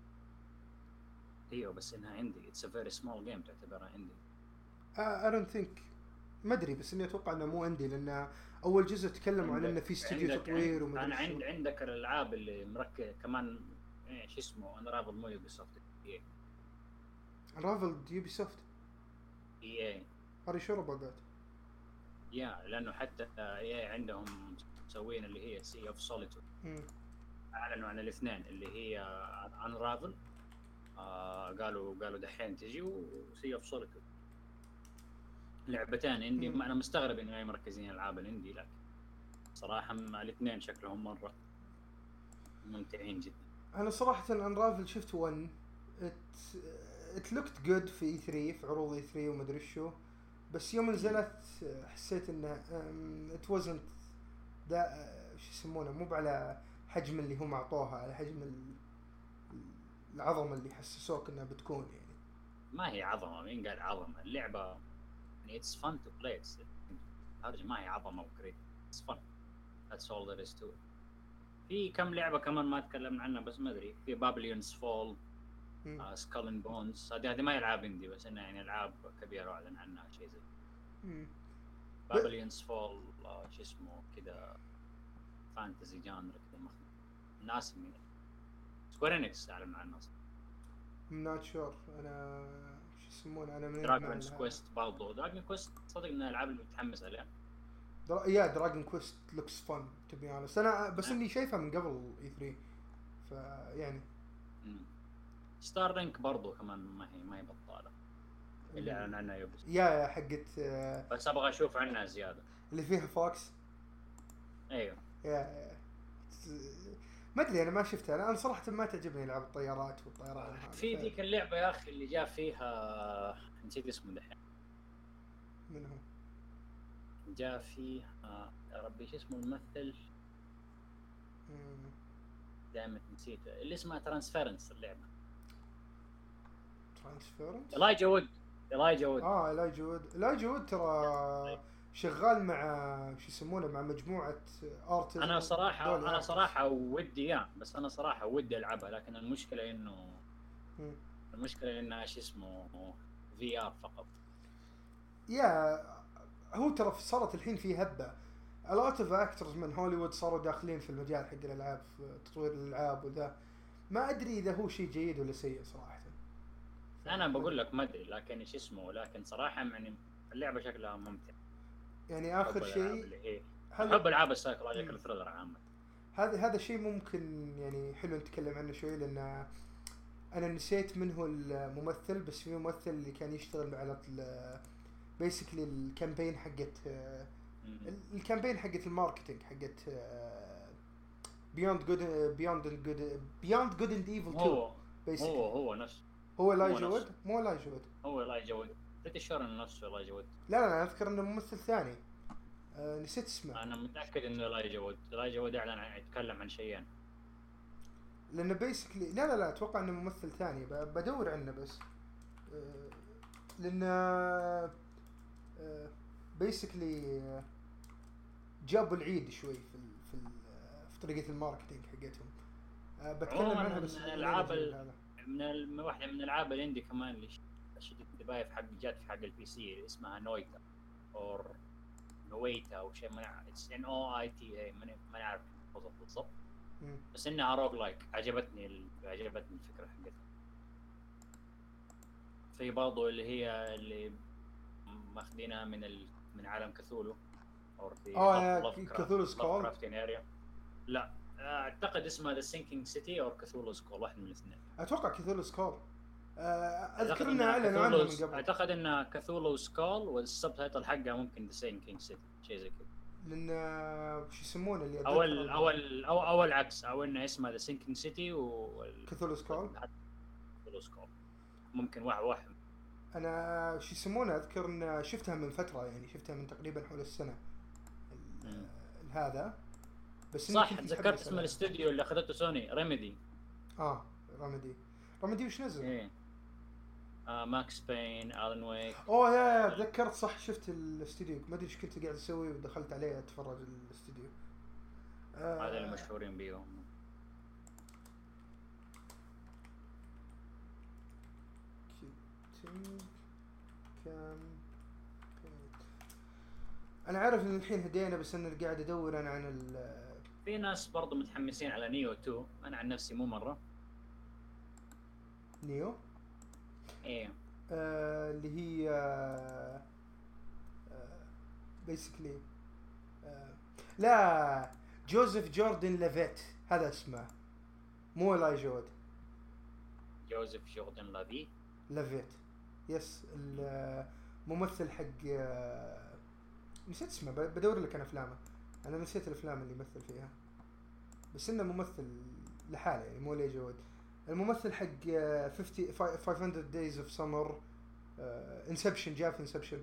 ايوه بس انها اندي، اتس ا فيري سمول جيم تعتبرها اندي. اي دونت ثينك، ما ادري، بس اني اتوقع انه مو اندي، لان اول جزء تكلموا عن انه في استوديو تطوير وما انا ادري عند عندك الالعاب اللي مركز كمان ايش اسمه انرافل مو يوبي سوفت، اي انرافلد يوبي سوفت. اي اي اري شور اباوت ذات. يا لانه حتى اي عندهم مسوين اللي هي سي اوف سوليتود، اعلنوا عن الاثنين اللي هي انرافل، آه قالوا قالوا دحين تجي، وسي اوف سوليتود، لعبتين اندي. انا مستغرب انه مركزين العاب الاندي، لكن صراحه الاثنين شكلهم مره ممتعين جدا. انا صراحه انرافل شفت ون ات لوكت جود في اي ثري، في عروض اي ثري وما ادري شو، بس يوم نزلت حسيت انه ات وزنت ذا شو يسمونه، مو على حجم اللي هم اعطوها، على حجم العظمه اللي حسسوك انها بتكون. يعني ما هي عظمه، مين قال عظمه؟ اللعبه يعني it's fun to play، هذه ما هي عظمه وكريت، it's fun, that's all there is to it. في كم لعبه كمان ما تكلمنا عنها بس ما ادري، في بابليونز فول، سكال اند بونز، هذه هذه ما هي العاب اندي بس انها يعني العاب كبيره اعلن عنها شيء زي بابليونز فول، شو اسمه كذا، فانتزي جانر كذا مخ الناس من سكوير انكس اعلن عنها. نوت شور انا شو يسمونه، انا من دراجون كويست برضو، دراجون كويست صدق من الالعاب اللي متحمس عليها. درا... يا دراجون كويست لوكس فن تو بي اونست، انا بس اني شايفها من قبل اي ثري، فيعني ستار رينك برضو كمان ما هي ما هي بطاله اللي اعلن عنها يوبي، يا حقت آه بس ابغى اشوف عنها زياده، اللي فيها فوكس. ايوه يا ما ادري انا ما شفتها، انا صراحه ما تعجبني العاب الطيارات والطيران. في ذيك اللعبه يا اخي اللي جاء فيها نسيت اسمه دحين، من هو جاء فيها يا ربي ايش اسمه الممثل، دائما نسيته، اللي اسمها ترانسفيرنس اللعبه. ترانسفيرنس إلايجا وود إلايجا وود اه إلايجا وود إلايجا وود ترى شغال مع شو يسمونه مع مجموعه ارت. انا صراحه انا صراحه ودي اياه، بس انا صراحه ودي العبها، لكن المشكله انه م. المشكله انها ايش اسمه في ار فقط. يا هو ترى صارت الحين في هبه، a lot of actors من هوليوود صاروا داخلين في المجال حق الالعاب، في تطوير الالعاب وذا. ما ادري اذا هو شيء جيد ولا سيء صراحه، انا بقول لك ما ادري، لكن ايش اسمه، لكن صراحه يعني اللعبه شكلها ممتع. يعني اخر شيء حب العاب السايكولوجيكال ثريلر عامه، هذا هذا شيء ممكن يعني حلو نتكلم عنه شوي، لان انا نسيت من هو الممثل، بس في ممثل اللي كان يشتغل على بيسكلي الكامبين حقت الكامبين حقت الماركتينج حقت بيوند جود بيوند جود بيوند جود اند ايفل تو. هو هو هو نفس هو لايجا وود مو لايجا وود هو لايجا وود بريتي شور انه نفسه لايجا وود. لا لا انا اذكر انه ممثل ثاني أه نسيت اسمه. انا متاكد انه لايجا وود. لايجا وود اعلن عن يتكلم عن شيئين لانه بيسكلي لا لا لا اتوقع انه ممثل ثاني بدور عنه بس أه لانه أه بيسكلي أه جابوا العيد شوي في ال في ال في طريقه الماركتينج حقتهم. أه بتكلم عنها بس من الالعاب ال... من ال... واحده من الالعاب الاندي كمان اللي شدت انتباهي في حق جات في حق البي سي اسمها نويتا اور نويتا او شيء ما اتس ان او اي تي اي ما نعرف بالضبط بس انها روج لايك. عجبتني ال... عجبتني الفكره حقتها. في برضو اللي هي اللي ماخذينها من ال... من عالم كثولو او في اه كثولو سكول. لا اعتقد اسمها ذا سينكينج سيتي او كثولو سكول واحد من الاثنين. اتوقع كثولو سكول. اذكر انها اعلنوا عنها من قبل. اعتقد انها كثولو سكول والسبتايتل حقها ممكن ذا سينكينج سيتي شيء زي كذا. لان شو يسمونه اللي اول اول او او العكس او انه اسمها ذا سينكينج سيتي و كثولو سكول. كثولو سكول ممكن واحد واحد. انا شو يسمونه اذكر ان شفتها من فتره يعني شفتها من تقريبا حول السنه هذا بس صح. تذكرت اسم الاستوديو اللي اخذته سوني ريميدي. اه ريميدي ريميدي وش نزل؟ ايه آه ماكس بين الان ويك. اوه يا تذكرت صح شفت الاستوديو ما ادري ايش كنت قاعد اسوي ودخلت عليه اتفرج الاستوديو. هذا آه اللي مشهورين بيهم. كان انا عارف ان الحين هدينا بس انا قاعد ادور انا عن ال في ناس برضو متحمسين على نيو تو. انا عن نفسي مو مره. نيو ايه آه اللي هي آه بيسكلي آه لا جوزيف جوردن لافيت هذا اسمه مو لاي جود. جوزيف جوردن لافيت لافيت يس الممثل حق آه نسيت اسمه بدور لك انا افلامه. انا نسيت الافلام اللي يمثل فيها بس انه ممثل لحاله يعني مو لي جود. الممثل حق خمسين خمسمية days of summer انسبشن جاء في انسبشن.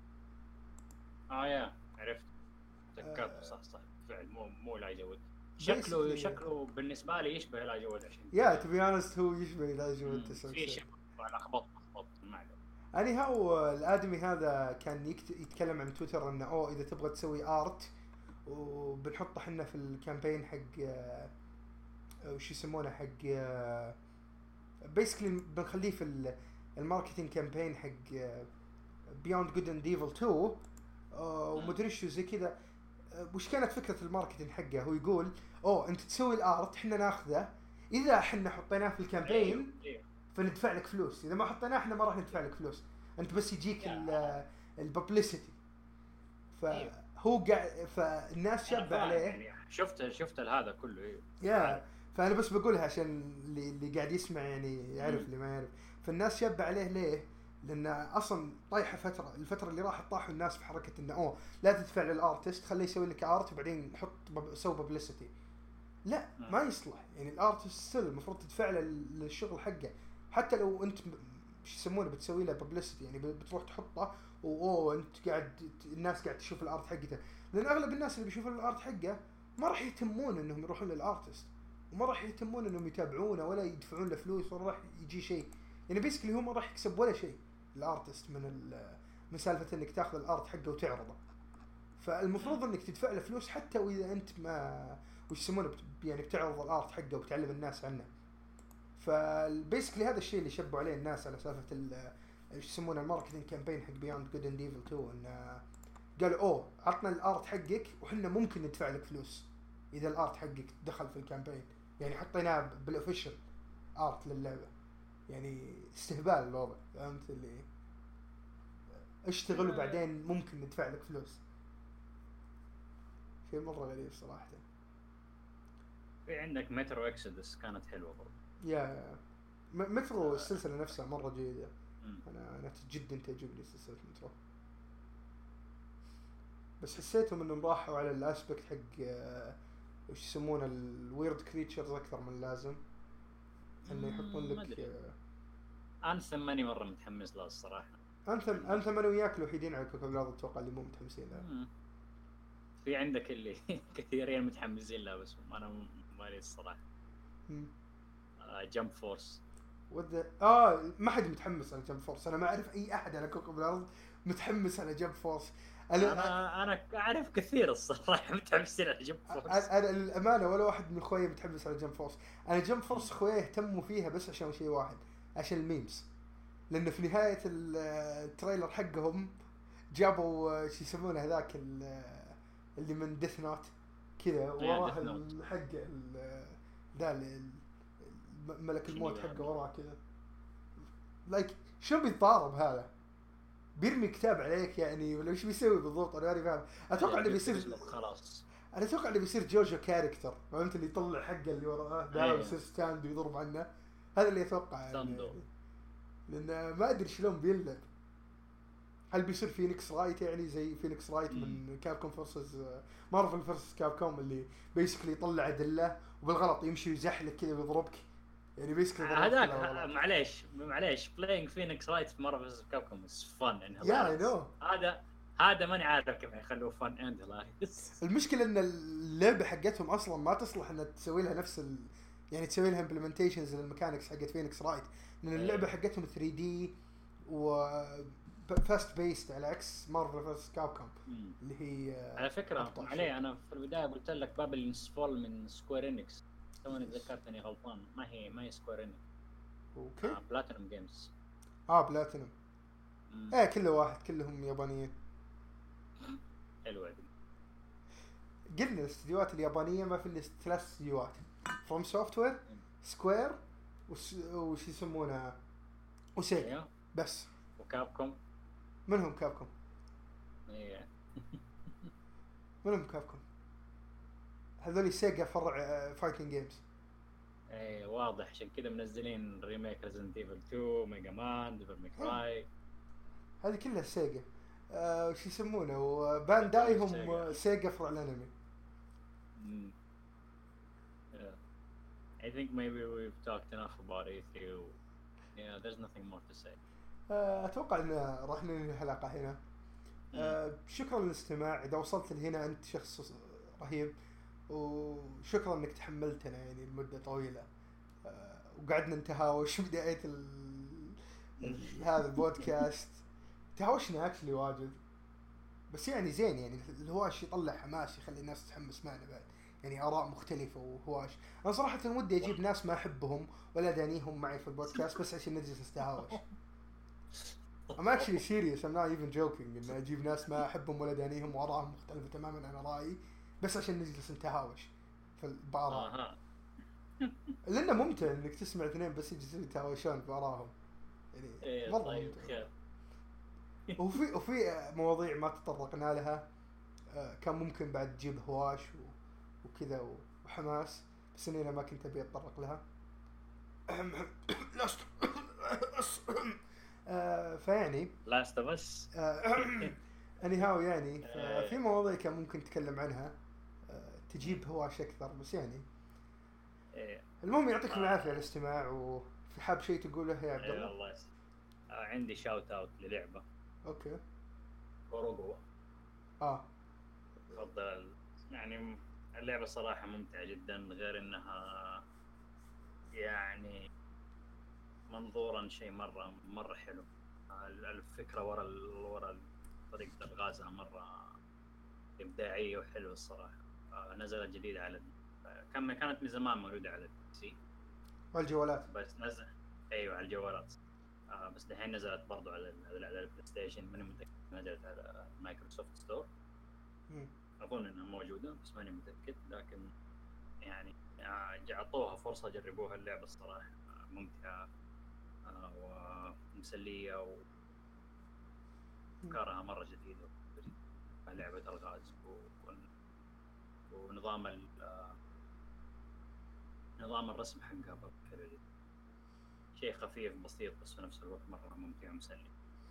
اه يا عرفت تذكرت. آه صح صح فعلا مو مو لاي جود. شكله شكله بالنسبه لي يشبه لاي جود عشان يا تو بي اونست هو يشبه لاي جود في شيء لخبط لخبط معه. يعني هو الادمي هذا كان يتكلم عن تويتر انه اوه اذا تبغى تسوي ارت وبنحطه احنا في الكامبين حق وش يسمونه حق بيسكلي بنخليه في الماركتينج كامبين حق بيوند جود اند ايفل تو ومدري شو زي كذا. وش كانت فكره الماركتينج حقه؟ هو يقول اوه انت تسوي الارت احنا ناخذه اذا احنا حطيناه في الكامبين فندفع لك فلوس. اذا ما حطيناه احنا ما راح ندفع لك فلوس انت بس يجيك الببليسيتي. فهو قاعد فالناس شابه عليه يعني شفت شفت هذا كله يا فانا بس بقولها عشان اللي اللي قاعد يسمع يعني يعرف اللي ما يعرف. فالناس شابه عليه ليه؟ لان اصلا طايحه فتره الفتره اللي راحت طاحوا الناس في حركه انه اوه لا تدفع للارتست خليه يسوي لك ارت وبعدين حط سوي ببليسيتي. لا ما يصلح يعني الارتست ستيل المفروض تدفع له للشغل حقه حتى لو انت ايش يسمونه بتسوي له ببليسيتي يعني بتروح تحطه واوه انت قاعد الناس قاعد تشوف الارت حقته. لان اغلب الناس اللي بيشوفون الارت حقه ما راح يهتمون انهم يروحون للارتست وما راح يهتمون انهم يتابعونه ولا يدفعون له فلوس ولا راح يجي شيء يعني بيسكلي هو ما راح يكسب ولا شيء الارتست من من سالفه انك تاخذ الارت حقه وتعرضه. فالمفروض انك تدفع له فلوس حتى واذا انت ما وش يسمونه يعني بتعرض الارت حقه وبتعلم الناس عنه. فالبيسكلي هذا الشيء اللي شبوا عليه الناس على سالفه ايش يسمونه الماركتينج كامبين حق بيوند جود اند ايفل تو انه قالوا اوه عطنا الارت حقك وحنا ممكن ندفع لك فلوس اذا الارت حقك دخل في الكامبين يعني حطيناه بالاوفيشال ارت للعبه يعني استهبال الوضع فهمت اللي اشتغل وبعدين ممكن ندفع لك فلوس. شيء مره غريب صراحه. في عندك مترو اكسودس كانت حلوه برضه. يا مترو السلسله نفسها مره جيده. انا انا جدا تعجبني سلسله مترو بس حسيتهم انهم راحوا على الاسبكت حق وش يسمونه الويرد كريتشرز اكثر من لازم انه يحطون لك. انثم ماني مره متحمس له الصراحه. انثم انثم انا وياك الوحيدين على كوكب الارض اتوقع اللي مو متحمسين له. مم. في عندك اللي كثيرين متحمسين له بس انا مالي الصراحه. آه جمب فورس ود اه ما حد متحمس على جمب فورس. انا ما اعرف اي احد على كوكب الارض متحمس على جمب فورس. انا انا, أنا اعرف كثير الصراحه متحمسين على جمب فورس. انا للامانه ولا واحد من اخويا متحمس على جمب فورس. انا جمب فورس اخويا يهتموا فيها بس عشان شيء واحد، عشان الميمز. لانه في نهايه التريلر حقهم جابوا شو يسمونه هذاك اللي من ديث نوت كذا وراه الحق ذا ملك الموت حقه وراه كذا. لايك شو بيتضارب هذا؟ بيرمي كتاب عليك يعني ولا ايش بيسوي بالضبط؟ انا ماني فاهم. اتوقع انه بيصير خلاص. انا اتوقع انه بيصير جوجو كاركتر، فهمت؟ اللي يطلع حقه اللي وراه ده ويصير ستاند ويضرب عنه. هذا اللي اتوقع يعني. لان ما ادري شلون بيلعب. هل بيصير فينيكس رايت يعني زي فينيكس رايت من كابكوم فورسز مارفل فورسز كابكوم اللي بيسكلي يطلع ادله وبالغلط يمشي ويزحلك كذا ويضربك يعني بيسكلي هذاك. معليش معليش بلاينج فينيكس رايت في مارفل فورسز كابكوم از فن ان يا هذا هذا ماني عارف كيف يخلوه فن اند لايف. المشكله ان اللعبه حقتهم اصلا ما تصلح ان تسوي لها نفس ال... يعني تسوي لها امبلمنتيشنز للميكانكس حقت فينيكس رايت، لان اللعبه حقتهم ثري دي و فاست بيست على عكس مارفل فيرس كابكوم اللي هي على فكره. عليه انا في البدايه قلت لك بابلينز فول من سكوير انكس، توني تذكرت اني غلطان. ما هي ما هي سكوير انكس. اوكي. آه بلاتينوم جيمز. اه بلاتينوم. ايه كله واحد، كلهم يابانيين. حلوه دي. قلنا الاستديوهات اليابانيه ما في الا ثلاث استديوهات: فروم سوفت وير، سكوير، وش وش يسمونها وسيجا بس. وكابكوم. منهم كابكوم؟ ايه منهم كابكوم؟ هذول سيجا فرع فايتنج جيمز. ايه واضح، عشان كذا منزلين ريميك ريزنت ايفل تو، ميجا مان، ديفل ماي كراي. هذه كلها سيجا. آه وش يسمونه وبانداي هم سيجا فرع الانمي. امم I think maybe we've talked enough about E three. Yeah, there's nothing more to say. اتوقع ان راح ننهي الحلقه هنا. أه شكرا للاستماع. اذا وصلت لهنا انت شخص رهيب، وشكرا انك تحملتنا يعني لمده طويله. أه وقعدنا نتهاوش بدايه ال... هذا البودكاست. تهاوشنا اكشلي واجد، بس يعني زين يعني الهواش يطلع حماس، يخلي الناس تتحمس معنا بعد يعني آراء مختلفة وهواش. أنا صراحة ودي أجيب ناس ما أحبهم ولا دانيهم معي في البودكاست بس عشان نجلس نتهاوش. I'm actually serious, I'm not even joking إن أجيب ناس ما أحبهم ولا دانيهم وآراءهم مختلفة تماماً عن رأيي بس عشان نجلس نتهاوش في البآراء. لأنه ممتع إنك تسمع اثنين بس يجلسون يتهاوشون بآراءهم يعني مرة ممتع. وفي وفي مواضيع ما تطرقنا لها كان ممكن بعد تجيب هواش وكذا وحماس بس اني ما كنت ابي اتطرق لها. لاست فيعني لاست بس اني هاو يعني في مواضيع كان ممكن نتكلم عنها تجيب هواش اكثر بس يعني المهم يعطيكم العافيه على الاستماع. وفي حاب شيء تقوله يا عبد الله؟ الله يسلمك. عندي شاوت اوت للعبه. اوكي. اوروغو. اه تفضل. يعني اللعبة صراحة ممتعة جدا، غير انها يعني منظورا شيء مرة مرة حلو. الفكرة ورا ورا طريقة الغازها مرة إبداعية وحلوة الصراحة. نزلت جديدة على كم كانت من زمان موجودة على البي سي والجوالات بس نزل. ايوه على الجوالات بس دحين نزلت برضو على على البلاي ستيشن. ماني متأكد نزلت على مايكروسوفت ستور. أظن إنها موجودة بس ماني متأكد، لكن يعني أعطوها فرصة جربوها. اللعبة الصراحة ممتعة ومسلية وأفكارها مرة جديدة. لعبة الغاز ونظام ال نظام الرسم حقها برضه شيء خفيف بسيط بس في نفس الوقت مرة ممتع ومسلي.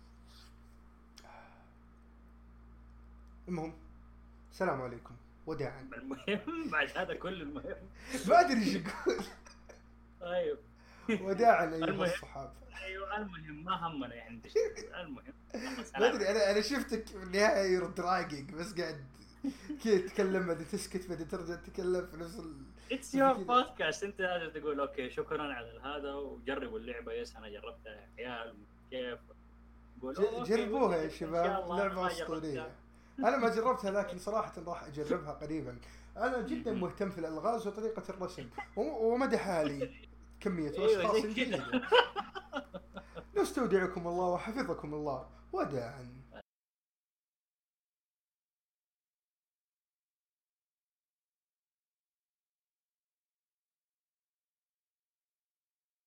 المهم السلام عليكم وداعا. المهم بعد هذا كل المهم ما ادري ايش اقول. طيب وداعا ايها المهم. الصحاب. ايوه المهم ما همنا يعني انت المهم. ما ادري انا انا شفتك في النهايه يور دراجينج بس قاعد كذا تتكلم بعدين تسكت بعدين ترجع تتكلم في نفس ال... اتس يور بودكاست، انت لازم تقول اوكي شكرا على هذا وجربوا اللعبه. يس انا جربتها يا عيال كيف. ج- جربوها يا شباب، لعبه اسطوريه. انا ما جربتها لكن صراحه راح اجربها قريبا. انا جدا مهتم في الالغاز وطريقه الرسم ومدحها لي كميه اشخاص جيده. نستودعكم الله وحفظكم الله وداعا.